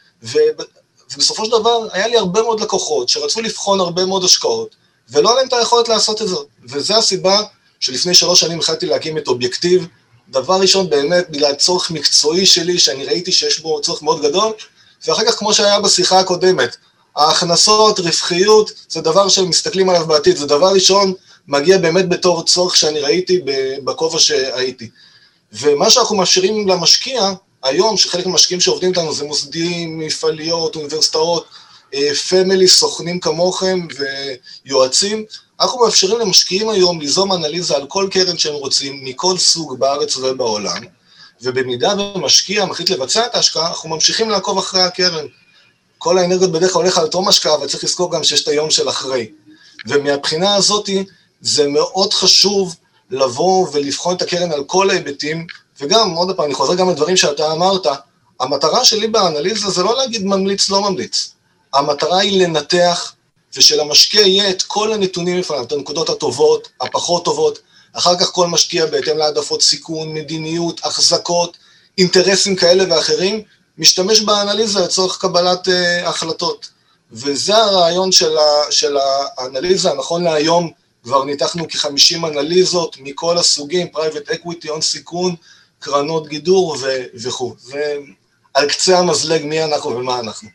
ובסופו של דבר, היה לי הרבה מאוד לקוחות שרצו לבחון הרבה מאוד השקעות, ולא עליהם את היכולת לעשות את זה. וזו הסיבה שלפני 3 שנים החלטתי להקים את אובייקטיב. דבר ראשון, באמת, בגלל צורך מקצועי שלי, שאני ראיתי שיש בו צורך מאוד גדול, ואחר כך, כמו שהיה בשיחה הקודמת, ההכנסות, רווחיות, זה דבר שמסתכלים עליו בעתיד, זה דבר ראשון, מגיע באמת בתור צורך שאני ראיתי בכובע שהייתי. ומה שאנחנו מאפשרים למשקיע, היום, שחלק מהמשקיעים שעובדים איתנו, זה מוסדים, מפעליות, אוניברסיטאות, פמילי, סוכנים כמוכם ויועצים, אנחנו מאפשרים למשקיעים היום ליזום אנליזה על כל קרן שהם רוצים, מכל סוג בארץ ובעולם, ובמידה ומשקיע מחליט לבצע את ההשקעה, אנחנו ממשיכים לעקוב אחרי הקרן. כל האנרגיות בדרך כלל הולך על תום השקעה, אבל צריך לזכור גם שיש את היום של אחרי. ומהבחינה הזאת, זה מאוד חשוב לבוא ולבחון את הקרן על כל ההיבטים, וגם, עוד פעם, אני חוזר גם לדברים שאתה אמרת, המטרה שלי באנליזה זה לא להגיד ממליץ, לא ממליץ. המטרה היא לנתח, ושלמשקיע יהיה את כל הנתונים לפניו, את הנקודות הטובות, הפחות טובות, אחר כך כל משקיע בהתאם להעדפות סיכון, מדיניות, החזקות, אינטרסים כאלה ואחרים, משתמש באנליזה לצורך קבלת החלטות. וזה הרעיון של האנליזה. נכון להיום כבר ניתחנו כ-50 אנליזות מכל הסוגים, פרייבט אקוויטי, הון סיכון, קרנות גידור וכו'. זה על קצה המזלג מי אנחנו ומה אנחנו.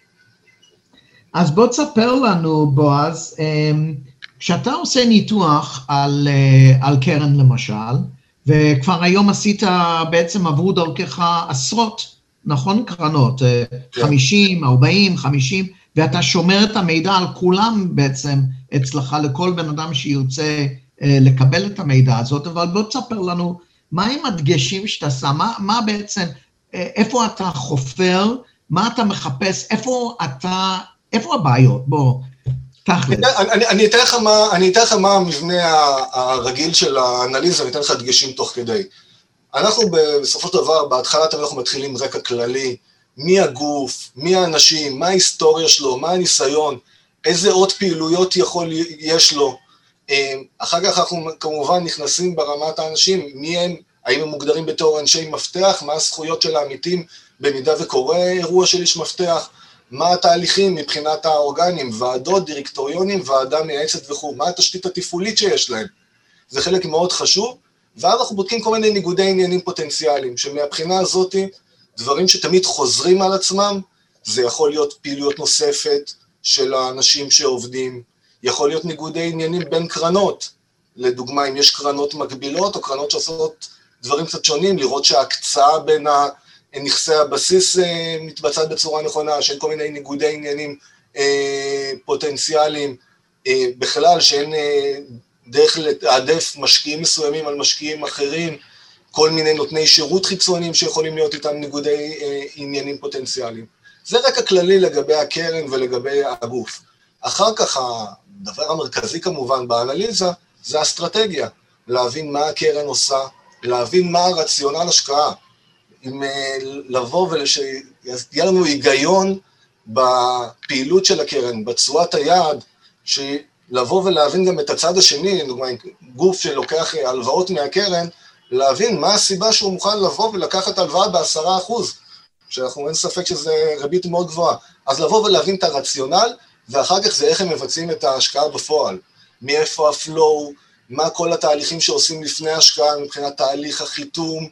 אז בוא תספר לנו, בועז, כשאתה עושה ניתוח על קרן למשל, וכבר היום עשית בעצם עברו דרכך עשרות, נכון? קרנות, 50, 40, 50, ואתה שומר את המידע על כולם בעצם אצלך, לכל בן אדם שירצה לקבל את המידע הזאת, אבל בוא תספר לנו, מה הם הדגשים שאתה עושה, מה בעצם, איפה אתה חופר, מה אתה מחפש, איפה הבעיות? בוא, תכל'ס. אני אתן לך מה המבנה הרגיל של האנליזה, אני אתן לך דגשים תוך כדי. אנחנו בסופו של דבר, בהתחלה אנחנו מתחילים רקע כללי, מי הגוף, מי האנשים, מה ההיסטוריה שלו, מה הניסיון, איזה עוד פעילויות יש לו. אחר כך אנחנו כמובן נכנסים ברמת האנשים, מי הם, האם הם מוגדרים בתור אנשי מפתח, מה הזכויות של העמיתים במידה וקורה אירוע של איש מפתח, מה התהליכים מבחינת האורגנים, ועדות, דירקטוריונים, ועדה מייעצת וכו', מה התשתית התפעולית שיש להם. זה חלק מאוד חשוב, ואז אנחנו בודקים כל מיני ניגודי עניינים פוטנציאליים, שמהבחינה הזאת, דברים שתמיד חוזרים על עצמם, זה יכול להיות פעילויות נוספת של האנשים שעובדים, יכול להיות ניגודי עניינים בין קרנות, לדוגמה, אם יש קרנות מקבילות, או קרנות שעושות דברים קצת שונים, לראות שההקצאה בין נכסי הבסיס מתבצעת בצורה נכונה, שאין כל מיני ניגודי עניינים פוטנציאליים, בכלל שאין דרך לתעדף משקיעים מסוימים על משקיעים אחרים, כל מיני נותני שירות חיצוניים שיכולים להיות איתם ניגודי עניינים פוטנציאליים. זה רק הכללי לגבי הקרן ולגבי הגוף. אחר כך הדבר המרכזי כמובן באנליזה זה האסטרטגיה, להבין מה הקרן עושה, להבין מה הרציונל השקעה, אם לבוא ושיהיה לנו היגיון בפעילות של הקרן, בצורת היעד, לבוא ולהבין גם את הצד השני, גוף שלוקח הלוואות מהקרן, להבין מה הסיבה שהוא מוכן לבוא ולקחת הלוואה ב10%, שאנחנו אין ספק שזה ריבית מאוד גבוהה, אז לבוא ולהבין את הרציונל, ואחר כך זה איך הם מבצעים את ההשקעה בפועל, מאיפה הפלואו, מה כל התהליכים שעושים לפני ההשקעה, מבחינת תהליך החיתום,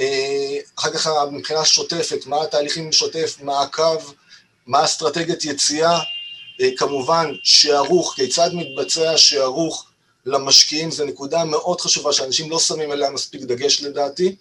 אחר כך מבחינה שוטפת, מה התהליכים שוטף, מעקב, מה אסטרטגיית יציאה, כמובן שערוך, כיצד מתבצע שערוך למשקיעים, זה נקודה מאוד חשובה שאנשים לא שמים עליה מספיק דגש לדעתי,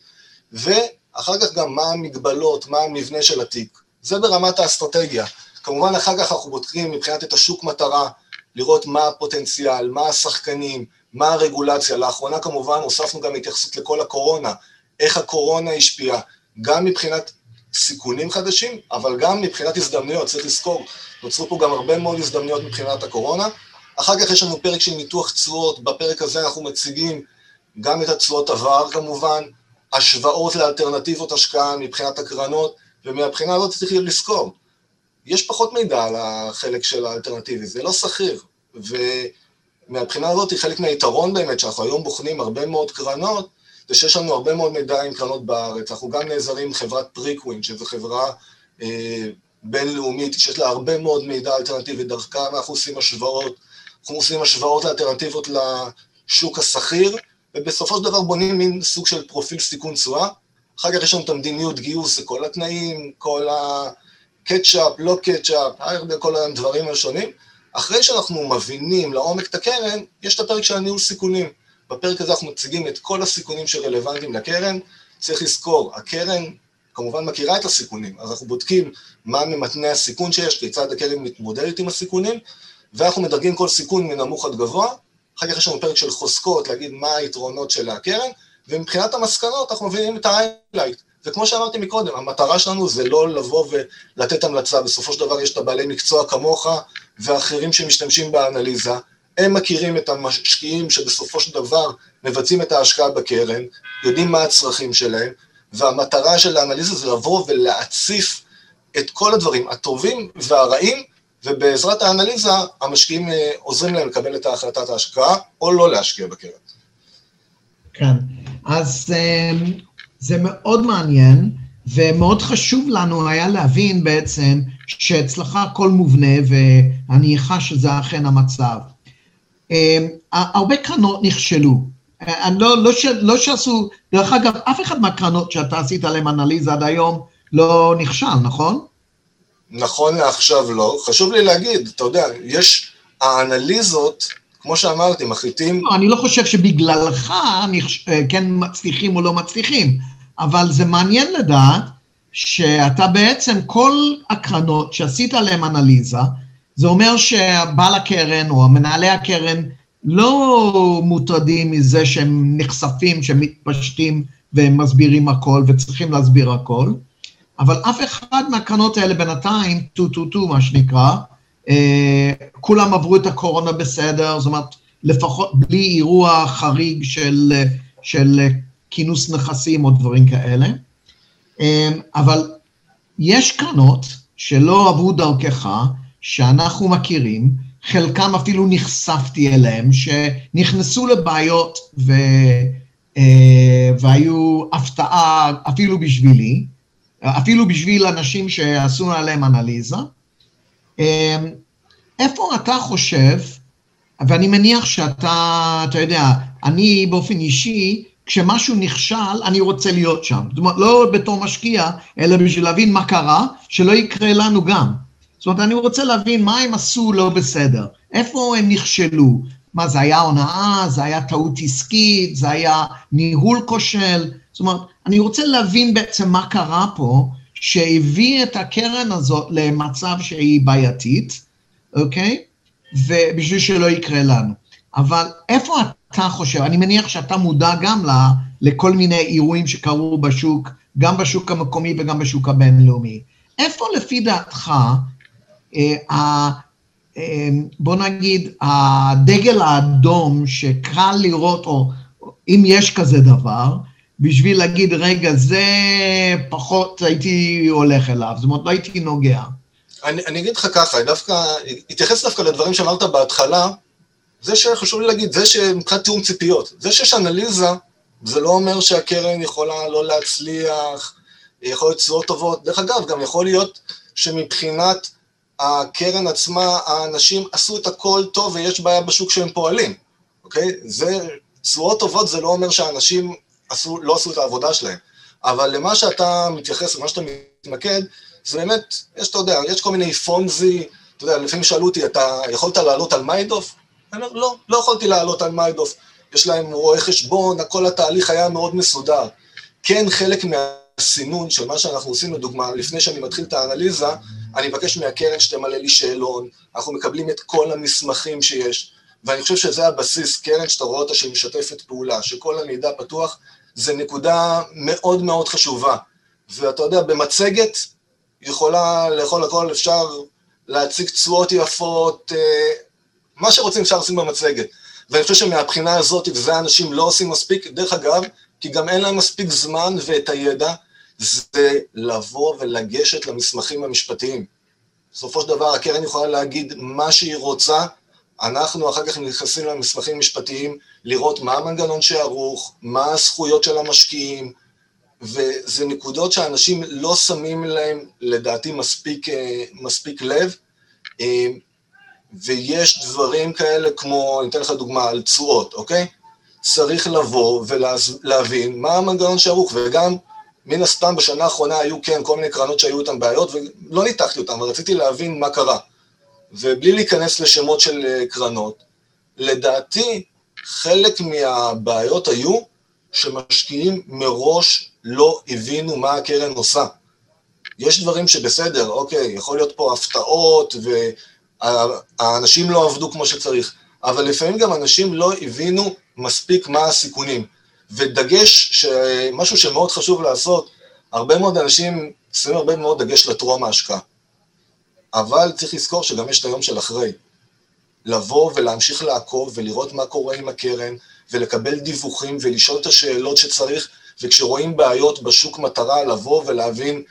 ואחר כך גם מה המגבלות, מה המבנה של התיק, זה ברמת האסטרטגיה. כמובן אחר כך אנחנו בודקים מבחינת את השוק מטרה, לראות מה הפוטנציאל, מה השחקנים, מה הרגולציה. לאחרונה כמובן הוספנו גם התייחסות לכל הקורונה, איך הקורונה השפיעה, גם מבחינת סיכונים חדשים, אבל גם מבחינת הזדמנויות, צריך לזכור, נוצרו פה גם הרבה מאוד הזדמנויות מבחינת הקורונה. אחר כך יש לנו פרק של ניתוח תשואות, בפרק הזה אנחנו מציגים גם את התשואות עבר כמובן, השוואות לאלטרנטיבות השקעה מבחינת הקרנות, ומהבחינה הזאת צריך לזכור, יש פחות מידע על החלק של האלטרנטיבי, זה לא סחיר, ומהבחינה הזאת חלק מהיתרון באמת, שאנחנו היום בוחנים הרבה מאוד קרנות, זה שיש לנו הרבה מאוד מידע עם קרנות בארץ, אנחנו גם נעזרים עם חברת פריקווין, שזו חברה בינלאומית, שיש לה הרבה מאוד מידע אלטרנטיבי דרכה, ואנחנו עושים השוואות, אנחנו עושים השוואות לאלטרנטיבות לשוק הסחיר, ובסופו של דבר בונים מין סוג של פרופיל סיכון תשואה, אחר כך יש לנו את המדיניות גיוס, כל התנאים, כל הקטשאפ, לא קטשאפ, כל הדברים השונים, אחרי שאנחנו מבינים לעומק את הקרן, יש את הפרק של הניהול סיכונים, בפרק הזה אנחנו מציגים את כל הסיכונים שרלוונטיים לקרן, צריך לזכור, הקרן כמובן מכירה את הסיכונים, אז אנחנו בודקים מה ממתני הסיכון שיש, כיצד הקרן מתמודדת עם הסיכונים, ואנחנו מדרגים כל סיכון מנמוך עד גבוה, אחר כך יש לנו פרק של חוזקות, להגיד מה היתרונות של הקרן, ומבחינת המסקנות אנחנו מבינים את ההיילייט, וכמו שאמרתי מקודם, המטרה שלנו זה לא לבוא ולתת המלצה, בסופו של דבר יש את הבעלי מקצוע כמוך, ואחרים שמשתמשים באנליזה, הם מכירים את המשקיעים שבסופו של דבר מבצעים את ההשקעה בקרן, יודעים מה הצרכים שלהם, והמטרה של האנליזה זה לבוא ולהציף את כל הדברים הטובים והרעים, ובעזרת האנליזה המשקיעים עוזרים להם לקבל את ההחלטת ההשקעה, או לא להשקיע בקרן. כן, אז זה מאוד מעניין, ומאוד חשוב לנו היה להבין בעצם שאצלך הכל מובנה, ואני חש שזה אכן המצב. הרבה קרנות נכשלו, לא שעשו, דרך אגב, אף אחד מהקרנות שאתה עשית עליהם אנליזה עד היום לא נכשל, נכון? נכון לעכשיו לא, חשוב לי להגיד, אתה יודע, יש האנליזות, כמו שאמרתי, מחליטים... אני לא חושב שבגללך כן מצליחים או לא מצליחים, אבל זה מעניין לדעת שאתה בעצם כל הקרנות שעשית עליהם אנליזה, זה אומר שבעל הקרן או מנהלי הקרן לא מוטרדים מזה שהם נחשפים, שהם מתפשטים והם מסבירים הכל וצריכים להסביר הכל, אבל אף אחד מהקרנות האלה בינתיים, מה שנקרא, כולם עברו את הקורונה בסדר, זאת אומרת, לפחות בלי אירוע חריג של כינוס נכסים או דברים כאלה, אבל יש קרנות שלא עברו דרכך, שאנחנו מכירים, חלקם אפילו נחשפתי אליהם, שנכנסו לבעיות והיו הפתעה אפילו בשבילי, אפילו בשביל אנשים שעשו עליהם אנליזה. איפה אתה חושב, ואני מניח שאתה יודע, אני באופן אישי, כשמשהו נכשל, אני רוצה להיות שם. זאת אומרת, לא בתור משקיע, אלא בשביל להבין מה קרה, שלא יקרה לנו גם. זאת אומרת, אני רוצה להבין מה הם עשו לא בסדר, איפה הם נכשלו, מה זה היה הונאה, זה היה טעות עסקית, זה היה ניהול כושל, זאת אומרת, אני רוצה להבין בעצם מה קרה פה, שהביא את הקרן הזאת למצב שהיא בעייתית, אוקיי? ובשביל שלא יקרה לנו. אבל איפה אתה חושב, אני מניח שאתה מודע גם לכל מיני אירועים שקרו בשוק, גם בשוק המקומי וגם בשוק הבינלאומי. איפה לפי דעתך, בוא נגיד, הדגל האדום שקל לראות, או אם יש כזה דבר, בשביל להגיד, רגע, זה פחות הייתי הולך אליו, זאת אומרת, לא הייתי נוגע. אני אגיד לך ככה, התייחס דווקא לדברים שאמרת בהתחלה, זה שחשוב לי להגיד, זה שמבחינת תיאום ציפיות, זה שיש אנליזה, זה לא אומר שהקרן יכולה לא להצליח, יכול להיות תשואות טובות, דרך אגב, גם יכול להיות שמבחינת הקרן עצמה, האנשים עשו את הכל טוב ויש בעיה בשוק שהם פועלים, אוקיי? זה, תשואות טובות זה לא אומר שהאנשים לא עשו את העבודה שלהם, אבל למה שאתה מתייחס, למה שאתה מתמקד, זה באמת, אתה יודע, יש כל מיני פונזי, אתה יודע, לפעמים שאלו אותי, אתה יכולת לעלות על מיידוף? אני אומר, לא יכולתי לעלות על מיידוף, יש להם רואה חשבון, כל התהליך היה מאוד מסודר. כן, חלק מהסינון של מה שאנחנו עושים, לדוגמה, לפני שאני מתחיל את האנליזה, אני מבקש מהקרן שתמלא לי שאלון, אנחנו מקבלים את כל המסמכים שיש, ואני חושב שזה הבסיס, קרן שאתה רואה אותה שהיא משתפת פעולה, שכל המידע פתוח, זה נקודה מאוד מאוד חשובה. ואתה יודע, במצגת יכולה לאכול הכל, אפשר להציג תשואות יפות, מה שרוצים אפשר לשים במצגת. ואני חושב שמהבחינה הזאת, וזה האנשים לא עושים מספיק, דרך אגב, כי גם אין להם מספיק זמן ואת הידע, זה לבוא ולגשת למסמכים המשפטיים. בסופו של דבר, הקרן יכולה להגיד מה שהיא רוצה, אנחנו אחר כך נכנסים למסמכים משפטיים, לראות מה המנגנון שערוך, מה הזכויות של המשקיעים, וזה נקודות שאנשים לא שמים להם, לדעתי, מספיק לב, ויש דברים כאלה כמו, אני אתן לך דוגמה, על תשואות, אוקיי? צריך לבוא ולהבין מה המנגנון שערוך, וגם מן הסתם בשנה האחרונה היו כן כל מיני קרנות שהיו איתן בעיות, ולא ניתחתי אותן, אבל רציתי להבין מה קרה. ובלי להיכנס לשמות של קרנות, לדעתי חלק מהבעיות היו שמשקיעים מראש לא הבינו מה הקרן עושה. יש דברים שבסדר, אוקיי, יכול להיות פה הפתעות, והאנשים לא עבדו כמו שצריך, אבל לפעמים גם אנשים לא הבינו מספיק מה הסיכונים. ודגש, משהו שמאוד חשוב לעשות, הרבה מאוד אנשים שמים הרבה מאוד דגש לטרום ההשקעה. אבל צריך לזכור שגם יש את היום של אחרי. לבוא ולהמשיך לעקוב ולראות מה קורה עם הקרן, ולקבל דיווחים ולשאול את השאלות שצריך, וכשרואים בעיות בשוק מטרה, לבוא ולהבין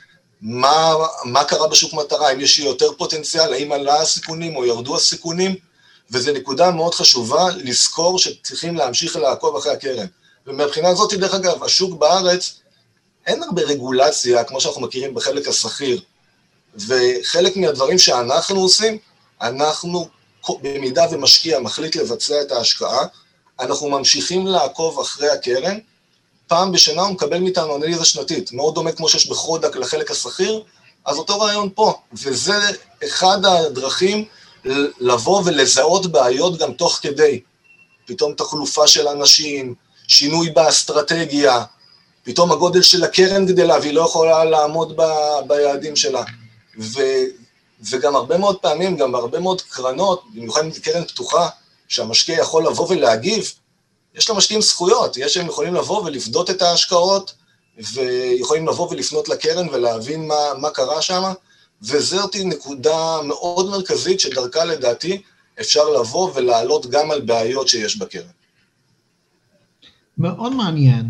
מה קרה בשוק מטרה, האם יש יותר פוטנציאל, האם עלה הסיכונים או ירדו הסיכונים, וזו נקודה מאוד חשובה לזכור שצריכים להמשיך לעקוב אחרי הקרן. ומבחינה הזאת, דרך אגב, השוק בארץ, אין הרבה רגולציה, כמו שאנחנו מכירים בחלק השכיר, וחלק מהדברים שאנחנו עושים, אנחנו במידה ומשקיע מחליט לבצע את ההשקעה, אנחנו ממשיכים לעקוב אחרי הקרן, פעם בשנה הוא מקבל מאיתנו אנליזה שנתית, מאוד דומה כמו שיש בחודק לחלק השכיר, אז אותו רעיון פה, וזה אחד הדרכים לבוא ולזהות בעיות גם תוך כדי, פתאום תחלופה של אנשים, שינוי באסטרטגיה, פתאום הגודל של הקרן גדלה, והיא לא יכולה לעמוד ביעדים שלה. וגם הרבה מאוד פעמים, גם בהרבה מאוד קרנות, במיוחד עם קרן פתוחה, שהמשקיע יכול לבוא ולהגיב, יש למשקיעים זכויות, שהם יכולים לבוא ולפדות את ההשקעות, ויכולים לבוא ולפנות לקרן ולהבין מה קרה שם, וזאת נקודה מאוד מרכזית שדרכה לדעתי אפשר לבוא ולעלות גם על בעיות שיש בקרן. מאוד מעניין,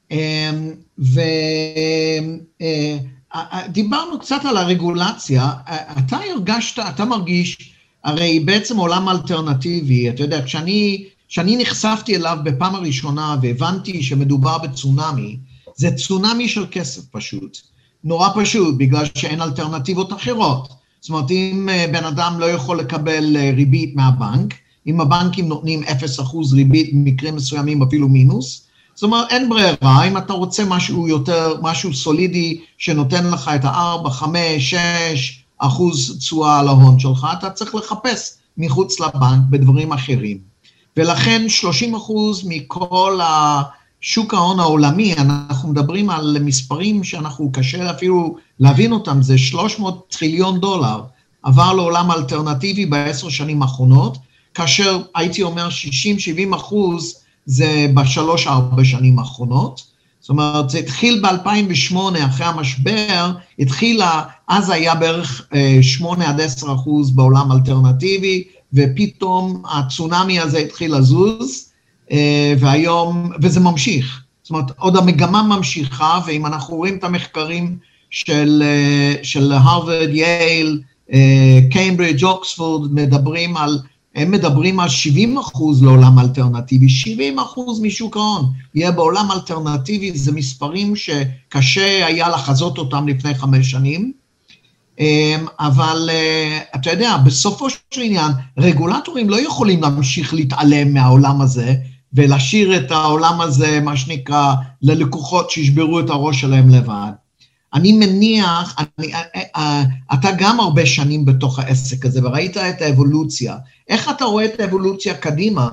דיברנו קצת על הרגולציה, אתה מרגיש, הרי בעצם עולם אלטרנטיבי, אתה יודע, כשאני נחשפתי אליו בפעם הראשונה והבנתי שמדובר בצונמי, זה צונמי של כסף פשוט, נורא פשוט, בגלל שאין אלטרנטיבות אחרות. זאת אומרת, אם בן אדם לא יכול לקבל ריבית מהבנק, אם הבנקים נותנים 0% ריבית, במקרים מסוימים אפילו מינוס, זאת אומרת, אין ברירה, אם אתה רוצה משהו סולידי, שנותן לך את 4, 5, 6% תשואה על ההון שלך, אתה צריך לחפש מחוץ לבנק בדברים אחרים. ולכן 30% מכל השוק ההון העולמי, אנחנו מדברים על מספרים שאנחנו קשה אפילו להבין אותם, זה 300 טריליון דולר, עבר לעולם אלטרנטיבי ב10 שנים האחרונות, כאשר הייתי אומר 60-70% זה ב3-4 שנים האחרונות, זאת אומרת, זה התחיל ב-2008, אחרי המשבר, אז היה בערך 8-10% בעולם אלטרנטיבי, ופתאום הצונמי הזה התחיל לזוז, והיום, וזה ממשיך. זאת אומרת, עוד המגמה ממשיכה, ואם אנחנו רואים את המחקרים של הרווארד, יייל, קיימברידג', אוקספורד, הם מדברים על 70% לעולם אלטרנטיבי, 70% משוק ההון יהיה בעולם אלטרנטיבי, זה מספרים שקשה היה לחזות אותם לפני 5 שנים, אבל אתה יודע, בסופו של עניין, רגולטורים לא יכולים להמשיך להתעלם מהעולם הזה, ולהשאיר את העולם הזה, מה שנקרא, ללקוחות שישברו את הראש שלהם לבד. אני מניח, אתה גם הרבה שנים בתוך העסק הזה, וראית את האבולוציה. איך אתה רואה את האבולוציה קדימה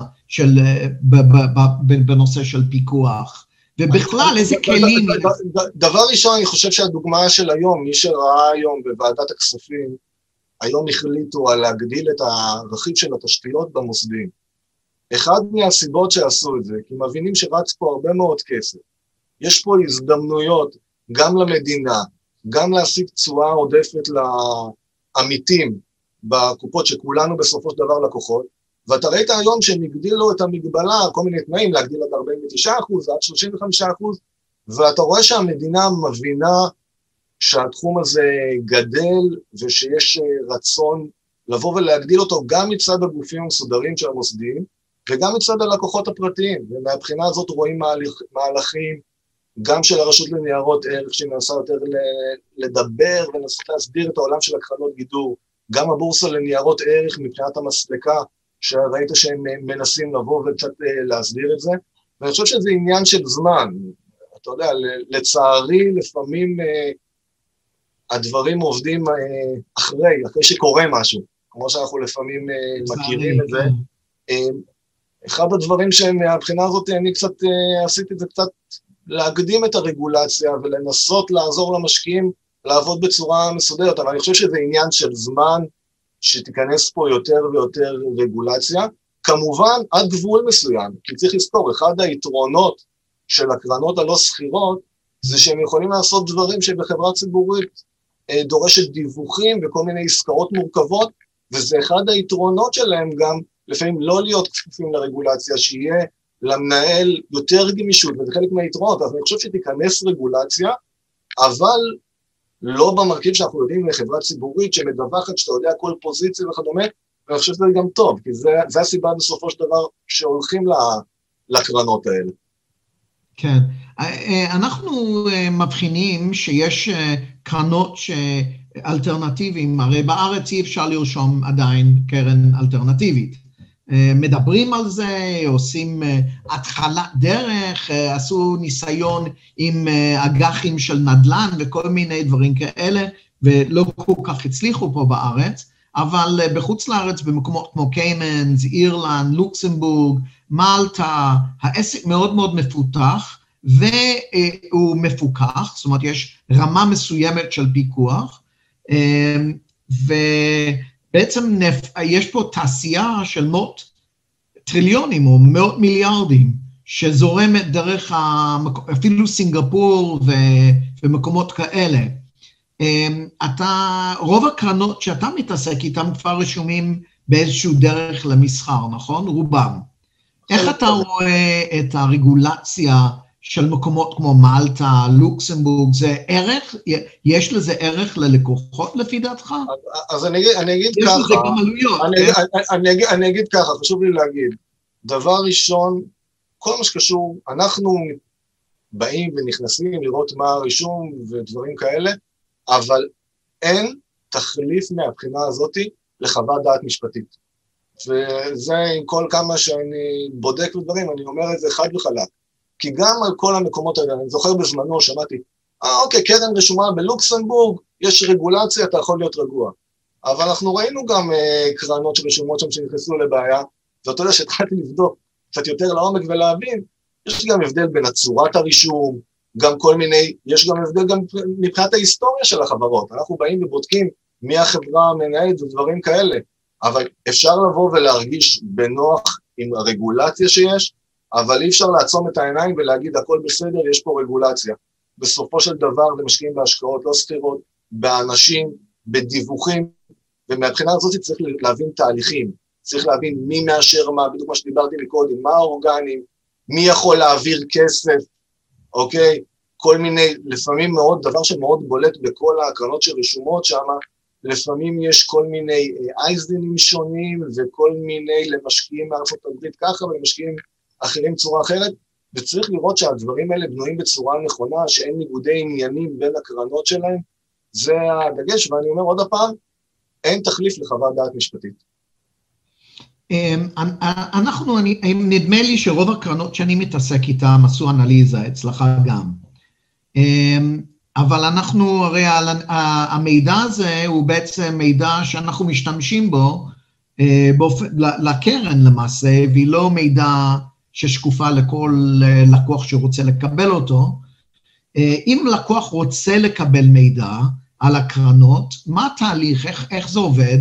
בנושא של פיקוח? ובכלל, איזה כלים? דבר ראשון, אני חושב שהדוגמה של היום, מי שראה היום בוועדת הכספים, היום החליטו על להגדיל את הרכיב של התשתיות במוסדים. אחד מהסיבות שעשו את זה, כי מבינים שרץ פה הרבה מאוד כסף. יש פה הזדמנויות, גם למדינה, גם להשיג תשואה עודפת לעמיתים בקופות שכולנו בסופו של דבר לקוחות, ואתה ראית היום שהם הגדילו את המגבלה, כל מיני תנאים, להגדיל עד 49% ועד 35%, ואתה רואה שהמדינה מבינה שהתחום הזה גדל, ושיש רצון לבוא ולהגדיל אותו גם מצד הגופים המסודרים של המוסדים, וגם מצד הלקוחות הפרטיים, ומהבחינה הזאת רואים מהלכים, גם של הרשות לניירות ערך, שמנסה יותר לדבר ונסות להסביר את העולם של הקרנות גידור, גם הבורסה לניירות ערך מבחינת המסלקה, שראית שהם מנסים לבוא וקצת להסביר את זה, ואני חושב שזה עניין של זמן, אתה יודע, לצערי לפעמים הדברים עובדים אחרי שקורה משהו, כמו שאנחנו לפעמים מכירים את זה. אחד הדברים שמהבחינה הזאת אני קצת עשיתי את זה קצת, להקדים את הרגולציה ולנסות לעזור למשקיעים לעבוד בצורה מסודרת, אבל אני חושב שזה עניין של זמן שתיכנס פה יותר ויותר רגולציה, כמובן עד גבול מסוים, כי צריך לזכור, אחד היתרונות של הקרנות הלא סחירות, זה שהם יכולים לעשות דברים שבחברה ציבורית דורשת דיווחים וכל מיני עסקאות מורכבות, וזה אחד היתרונות שלהם גם, לפעמים לא להיות כפופים לרגולציה, שיהיה למנהל יותר גמישות, וזה חלק מהיתרונות, אז אני חושב שתיכנס רגולציה, אבל לא במרכיב שאנחנו יודעים לחברה ציבורית, שמדווחת שאתה יודע כל פוזיציה וכדומה, ואני חושב שזה גם טוב, כי זה הסיבה בסופו של דבר שהולכים לקרנות האלה. כן, אנחנו מבחינים שיש קרנות אלטרנטיביים, הרי בארץ אי אפשר לרשום עדיין קרן אלטרנטיבית. מדברים על זה, עושים התחלת דרך, עשו ניסיון עם אג"חים של נדל"ן וכל מיני דברים כאלה, ולא כל כך הצליחו פה בארץ, אבל בחוץ לארץ, במקומות כמו קיימנס, אירלנד, לוקסמבורג, מלטה, העסק מאוד מאוד מפותח, והוא מפוקח, זאת אומרת, יש רמה מסוימת של פיקוח, ובעצם יש פה תעשייה של מאות טריליונים או מאות מיליארדים, שזורמת דרך אפילו סינגפור ומקומות כאלה. רוב הקרנות שאתה מתעסק איתם כבר רשומים באיזשהו דרך למסחר, נכון? רובם. איך אתה רואה את הרגולציה של מקומות כמו מלטה, לוקסמבורג, זה ערך, יש לזה ערך ללקוחות לפי דעתך? אז אני אגיד ככה, יש לזה גם עלויות. אני אגיד ככה, חשוב לי להגיד, דבר ראשון, כל מה שקשור, אנחנו באים ונכנסים לראות מה הרישום ודברים כאלה, אבל אין תחליף מהבחינה הזאת לחוות דעת משפטית. וזה עם כל כמה שאני בודק ודברים, אני אומר את זה חד וחלק. כי גם על כל המקומות האלה, אני זוכר בזמנו, שמעתי, אוקיי, קרן רשומה בלוקסמבורג, יש רגולציה, אתה יכול להיות רגוע. אבל אנחנו ראינו גם קרנות שרשומות שם שנכנסו לבעיה, ואתה יודע שהתחלתי לבדוק קצת יותר לעומק ולהבין, יש גם הבדל בין הצורת הרישום, גם כל מיני, יש גם הבדל גם מבחינת ההיסטוריה של החברות, אנחנו באים ובודקים מי החברה המנהלת ודברים כאלה, אבל אפשר לבוא ולהרגיש בנוח עם הרגולציה שיש, אבל אי אפשר לעצום את העיניים ולהגיד הכל בסדר, יש פה רגולציה. בסופו של דבר זה משקיעים בהשקעות לא סחירות, באנשים, בדיווחים, ומהבחינה הזאת צריך להבין תהליכים, צריך להבין מי מאשר מה, בדיוק מה שדיברתי מקודם, מה האורגנים, מי יכול להעביר כסף, אוקיי? כל מיני, לפעמים מאוד, דבר שמאוד בולט בכל ההקרנות שרשומות שם, לפעמים יש כל מיני אייזדינים שונים, וכל מיני למשקיעים מארצות הברית ככה, ולמשקיעים אחרים צורה אחרת, וצריך לראות שהדברים האלה בנויים בצורה נכונה, שאין ניגודי עניינים בין הקרנות שלהם, זה הדגש, ואני אומר עוד הפעם, אין תחליף לחוות דעת משפטית. נדמה לי שרוב הקרנות שאני מתעסק איתם עשו אנליזה, אצלך גם. אבל אנחנו, הרי המידע הזה הוא בעצם מידע שאנחנו משתמשים בו לקרן למעשה, והיא לא מידע ששקופה לכל לקוח שרוצה לקבל אותו. אם לקוח רוצה לקבל מידע על הקרנות, מה התהליך, איך זה עובד?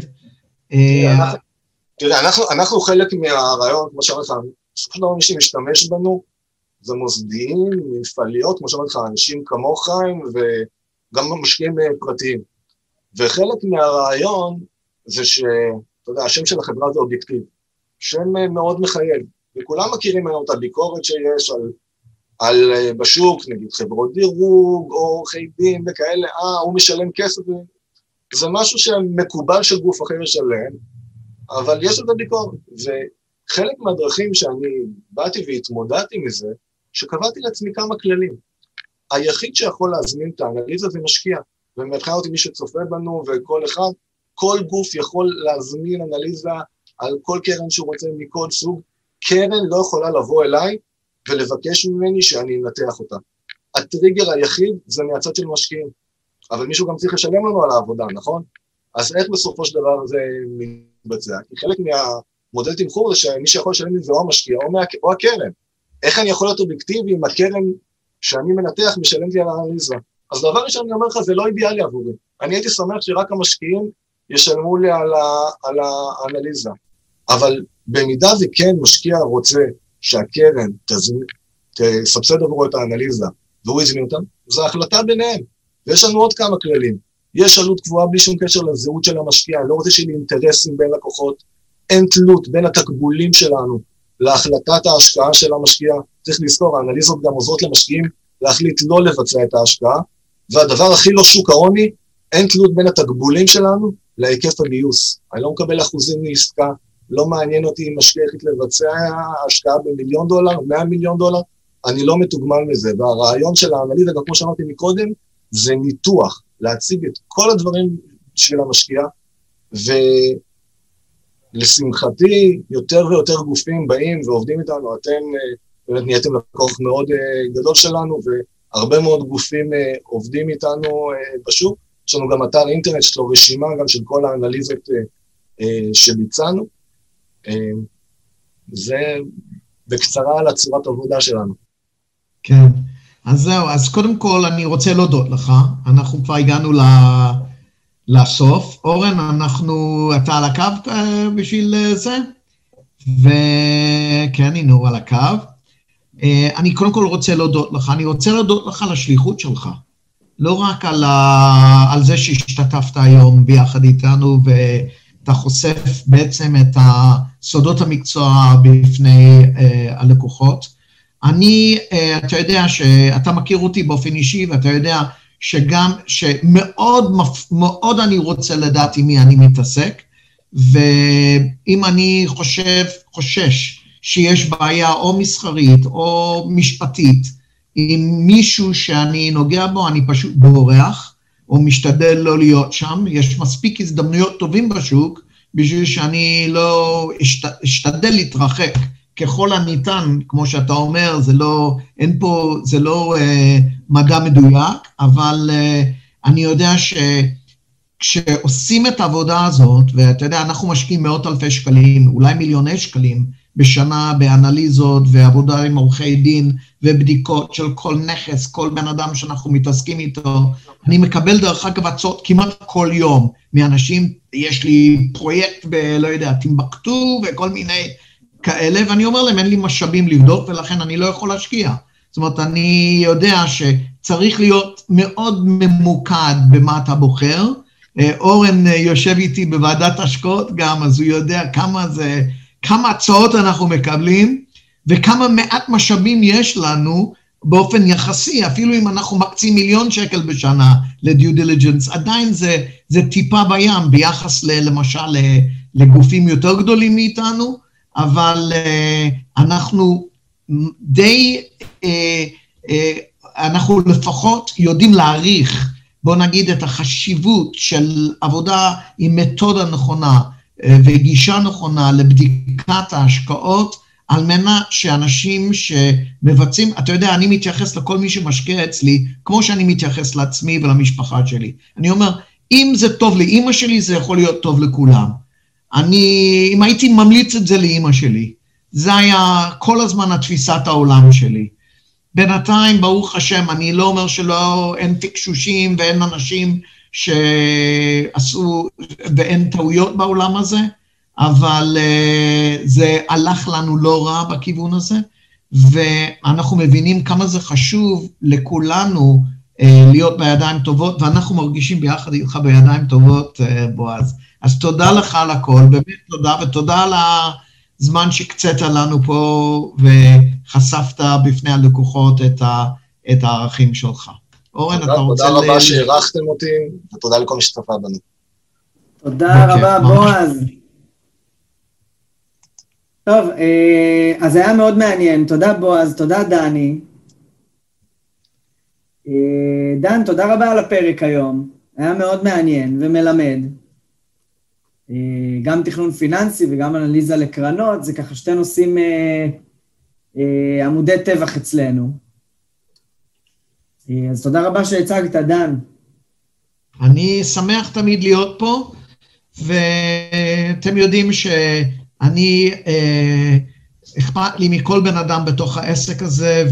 תראה, אנחנו חלק מהרעיון, כמו שאומר לך, בסופו של דבר מי שמשתמש בנו, זה מוסדיים, מפעליות, כמו שאומר לך, אנשים כמוך, וגם משקיעים פרטיים. וחלק מהרעיון זה שאתה יודע, השם של החברה זה אובייקטיב, שם מאוד מחייב, וכולם מכירים היום את הביקורת שיש על בשוק, נגיד חברות דירוג, או עורכי דין וכאלה, הוא משלם כסף, זה משהו שמקובל של גוף אחר לשלם, אבל יש לזה ביקורת, וחלק מהדרכים שאני באתי והתמודדתי מזה, שקבעתי לעצמי כמה כללים. היחיד שיכול להזמין את האנליזה זה משקיע, ומבחינה אותי מי שצופה בנו וכל אחד, כל גוף יכול להזמין אנליזה על כל קרן שהוא רוצה מכל סוג, קרן לא יכולה לבוא אליי ולבקש ממני שאני אנתח אותה. הטריגר היחיד זה מהצד של משקיעים, אבל מישהו גם צריך לשלם לנו על העבודה, נכון? אז איך בסופו של דבר זה מתבצע? כי חלק מהמודל תמחור זה שמי שיכול לשלם לי זה או המשקיע או הקרן. איך אני יכול להיות אובייקטיבי אם הקרן שאני מנתח משלמת לי על האנליזה? אז דבר ראשון אני אומר לך, זה לא אידיאלי עבורי. אני הייתי שמח שרק המשקיעים ישלמו לי על האנליזה. אבל במידה וכן משקיע רוצה שהקרן תסבסד עבורו את האנליזה, והוא יזמין אותם, זו החלטה ביניהם. ויש לנו עוד כמה כללים. יש עלות קבועה בלי שום קשר לזהות של המשקיע, אני לא רוצה שיהיה לי אינטרסים בין לקוחות, אין תלות בין התקבולים שלנו להחלטת ההשקעה של המשקיע, צריך לזכור, האנליזות גם עוזרות למשקיעים להחליט לא לבצע את ההשקעה, והדבר הכי לא שוק ההוני, אין תלות בין התקבולים שלנו להיקף הגיוס. אני לא מקבל אחוזים מעסקה, לא מעניין אותי אם משקיע החליט לבצע השקעה $1,000,000, $100,000,000, אני לא מתוגמל מזה, והרעיון של האנליזה, גם כמו שאמרתי מקודם, זה ניתוח, להציג את כל הדברים של המשקיע, ולשמחתי יותר ויותר גופים באים ועובדים איתנו, אתם באמת נהייתם לקוח מאוד גדול שלנו, והרבה מאוד גופים עובדים איתנו בשוק, יש לנו גם אתר אינטרנט, יש לו רשימה גם של כל האנליזות שביצענו, זה בקצרה על הצורת עבודה שלנו. כן, אז זהו, אז קודם כל אני רוצה להודות לך, אנחנו כבר הגענו לסוף, אורן, אתה על הקו בשביל זה, וכן, הנה על הקו, אני קודם כל רוצה להודות לך, אני רוצה להודות לך על השליחות שלך, לא רק על זה שהשתתפת היום ביחד איתנו, ואתה חושף בעצם את סודות המקצוע בפני הלקוחות, אתה יודע שאתה מכיר אותי באופן אישי, ואתה יודע שגם, שמאוד אני רוצה לדעת עם מי אני מתעסק, ואם אני חושש שיש בעיה או מסחרית או משפטית, עם מישהו שאני נוגע בו, אני פשוט בורח, או משתדל לא להיות שם, יש מספיק הזדמנויות טובים בשוק, בשביל שאני לא אשתדל להתרחק, ככל הניתן, כמו שאתה אומר, זה לא מדע מדויק, אבל אני יודע כשעושים את העבודה הזאת, ואתה יודע, אנחנו משקיעים מאות אלפי שקלים, אולי מיליוני שקלים, בשנה באנליזות ועבודה עם עורכי דין ובדיקות של כל נכס, כל בן אדם שאנחנו מתעסקים איתו. אני מקבל דרך אגב הצעות כמעט כל יום מאנשים, יש לי פרויקט לא יודע, טימבקטו וכל מיני כאלה, ואני אומר להם, אין לי משאבים לבדוק, ולכן אני לא יכול להשקיע. זאת אומרת, אני יודע שצריך להיות מאוד ממוקד במה אתה בוחר. אורן יושב איתי בוועדת השקעות גם, אז הוא יודע כמה הצעות אנחנו מקבלים, וכמה מעט משאבים יש לנו באופן יחסי, אפילו אם אנחנו מקצים מיליון שקל בשנה לדיו דיליג'נס, עדיין זה טיפה בים, ביחס למשל לגופים יותר גדולים מאיתנו, אבל אנחנו די, אנחנו לפחות יודעים להעריך, בוא נגיד את החשיבות של עבודה עם מתודה נכונה, וגישה נכונה לבדיקת ההשקעות, על מנת שאנשים שמבצעים, אתה יודע, אני מתייחס לכל מי שמשקיע אצלי, כמו שאני מתייחס לעצמי ולמשפחה שלי. אני אומר, אם זה טוב לאמא שלי, זה יכול להיות טוב לכולם. אם הייתי ממליץ את זה לאמא שלי, זה היה כל הזמן התפיסת העולם שלי. בינתיים, ברוך השם, אני לא אומר אין פיקשושים ואין אנשים שעשו, ואין טעויות בעולם הזה, אבל זה הלך לנו לא רע בכיוון הזה, ואנחנו מבינים כמה זה חשוב לכולנו להיות בידיים טובות, ואנחנו מרגישים ביחד איתך בידיים טובות, בועז. אז תודה לך על הכל, באמת תודה, ותודה על הזמן שקצת לנו פה, וחשפת בפני הלקוחות את הערכים שלך. אורן, אתה רוצה... תודה רבה שהערכתם אותי, ותודה לכל מי שצפה בנו. תודה רבה, בועז. טוב, אז היה מאוד מעניין. תודה, בועז, תודה, דני. דן, תודה רבה על הפרק היום. היה מאוד מעניין ומלמד. גם תכנון פיננסי וגם אנליזה לקרנות, זה ככה שתי נושאים עמודי טבח אצלנו. אז תודה רבה שהצגת, דן. אני שמח תמיד להיות פה, ואתם יודעים שאני, אכפת לי מכל בן אדם בתוך העסק הזה,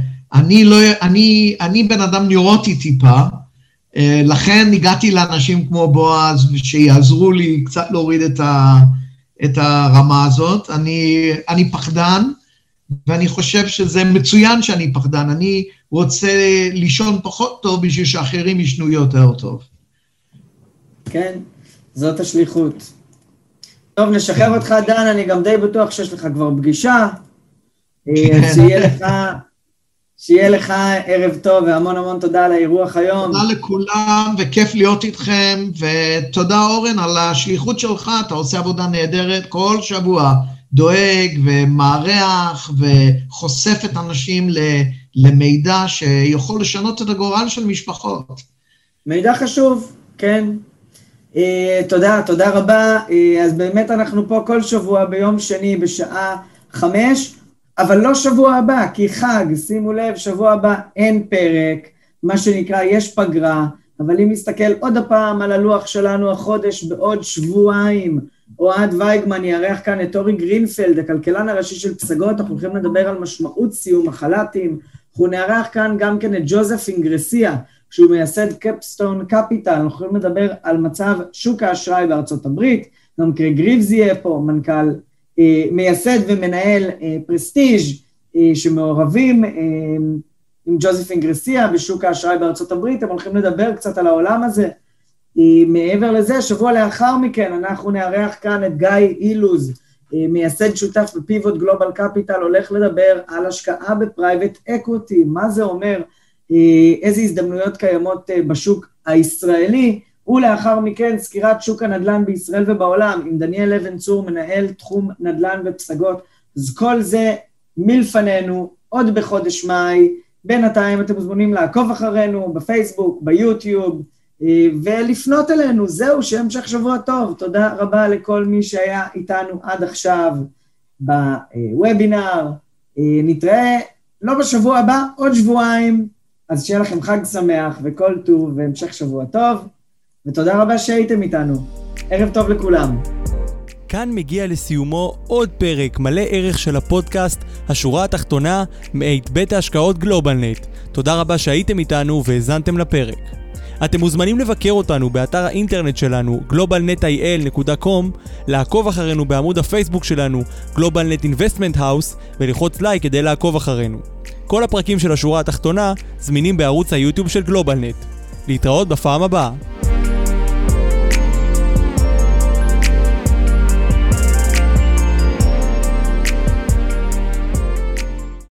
ואני בן אדם ניורוטי טיפה, לכן הגעתי לאנשים כמו בועז, שיעזרו לי קצת להוריד את הרמה הזאת. אני פחדן, ואני חושב שזה מצוין שאני פחדן, אני רוצה לישון פחות טוב בשביל שאחרים ישנו יותר טוב. כן, זאת השליחות. טוב, נשחרר אותך דן, אני גם די בטוח שיש לך כבר פגישה, שיהיה לך ערב טוב, והמון המון תודה על האירוח היום. תודה לכולם, וכיף להיות איתכם, ותודה אורן על השליחות שלך, אתה עושה עבודה נהדרת כל שבוע, דואג ומערך וחושף את אנשים למידע שיכול לשנות את הגורל של משפחות. מידע חשוב, כן. תודה רבה. אז באמת אנחנו פה כל שבוע ביום שני בשעה 5, אבל לא שבוע הבא, כי חג, שימו לב, שבוע הבא אין פרק, מה שנקרא, יש פגרה, אבל אם נסתכל עוד הפעם על הלוח שלנו, החודש בעוד שבועיים, אוהד וייגמן יארח כאן את אורי גרינפלד, הכלכלן הראשי של פסגות, אנחנו הולכים לדבר על משמעות סיום החל"תים, אנחנו נארח כאן גם כן את ג'וזף אינגרסיה, שהוא מייסד קפסטון קפיטל, אנחנו יכולים לדבר על מצב שוק האשראי בארצות הברית, גם קרי גריבס יהיה פה, מנכ"ל, מייסד ומנהל פרסטיג' שמעורבים עם ג'וזף אינגרסיה בשוק האשראי בארצות הברית, הם הולכים לדבר קצת על העולם הזה. מעבר לזה, שבוע לאחר מכן, אנחנו נארח כאן את גיא אילוז, מייסד שותף בפיבוט גלובל קפיטל, הולך לדבר על השקעה בפרייבט אקוויטי, מה זה אומר, איזה הזדמנויות קיימות בשוק הישראלי, ולאחר מכן סקירת שוק הנדל"ן בישראל ובעולם, עם דניאל אבן צור, מנהל תחום נדל"ן ופסגות, אז כל זה מלפנינו, עוד בחודש מאי, בינתיים אתם מוזמנים לעקוב אחרינו בפייסבוק, ביוטיוב, ולפנות אלינו, זהו, שהמשך שבוע טוב, תודה רבה לכל מי שהיה איתנו עד עכשיו בוובינר, נתראה לא בשבוע הבא, עוד שבועיים, אז שיהיה לכם חג שמח וכל טוב והמשך שבוע טוב, ותודה רבה שהייתם איתנו. ערב טוב לכולם. כאן מגיע לסיומו עוד פרק מלא ערך של הפודקאסט השורה התחתונה מאת בית ההשקעות גלובלנט. תודה רבה שהייתם איתנו והזנתם לפרק. אתם מוזמנים לבקר אותנו באתר האינטרנט שלנו globalnetil.com, לעקוב אחרינו בעמוד הפייסבוק שלנו GlobalNet Investment House ולחוץ לייק כדי לעקוב אחרינו. כל הפרקים של השורה התחתונה זמינים בערוץ היוטיוב של גלובלנט. להתראות בפעם הבאה.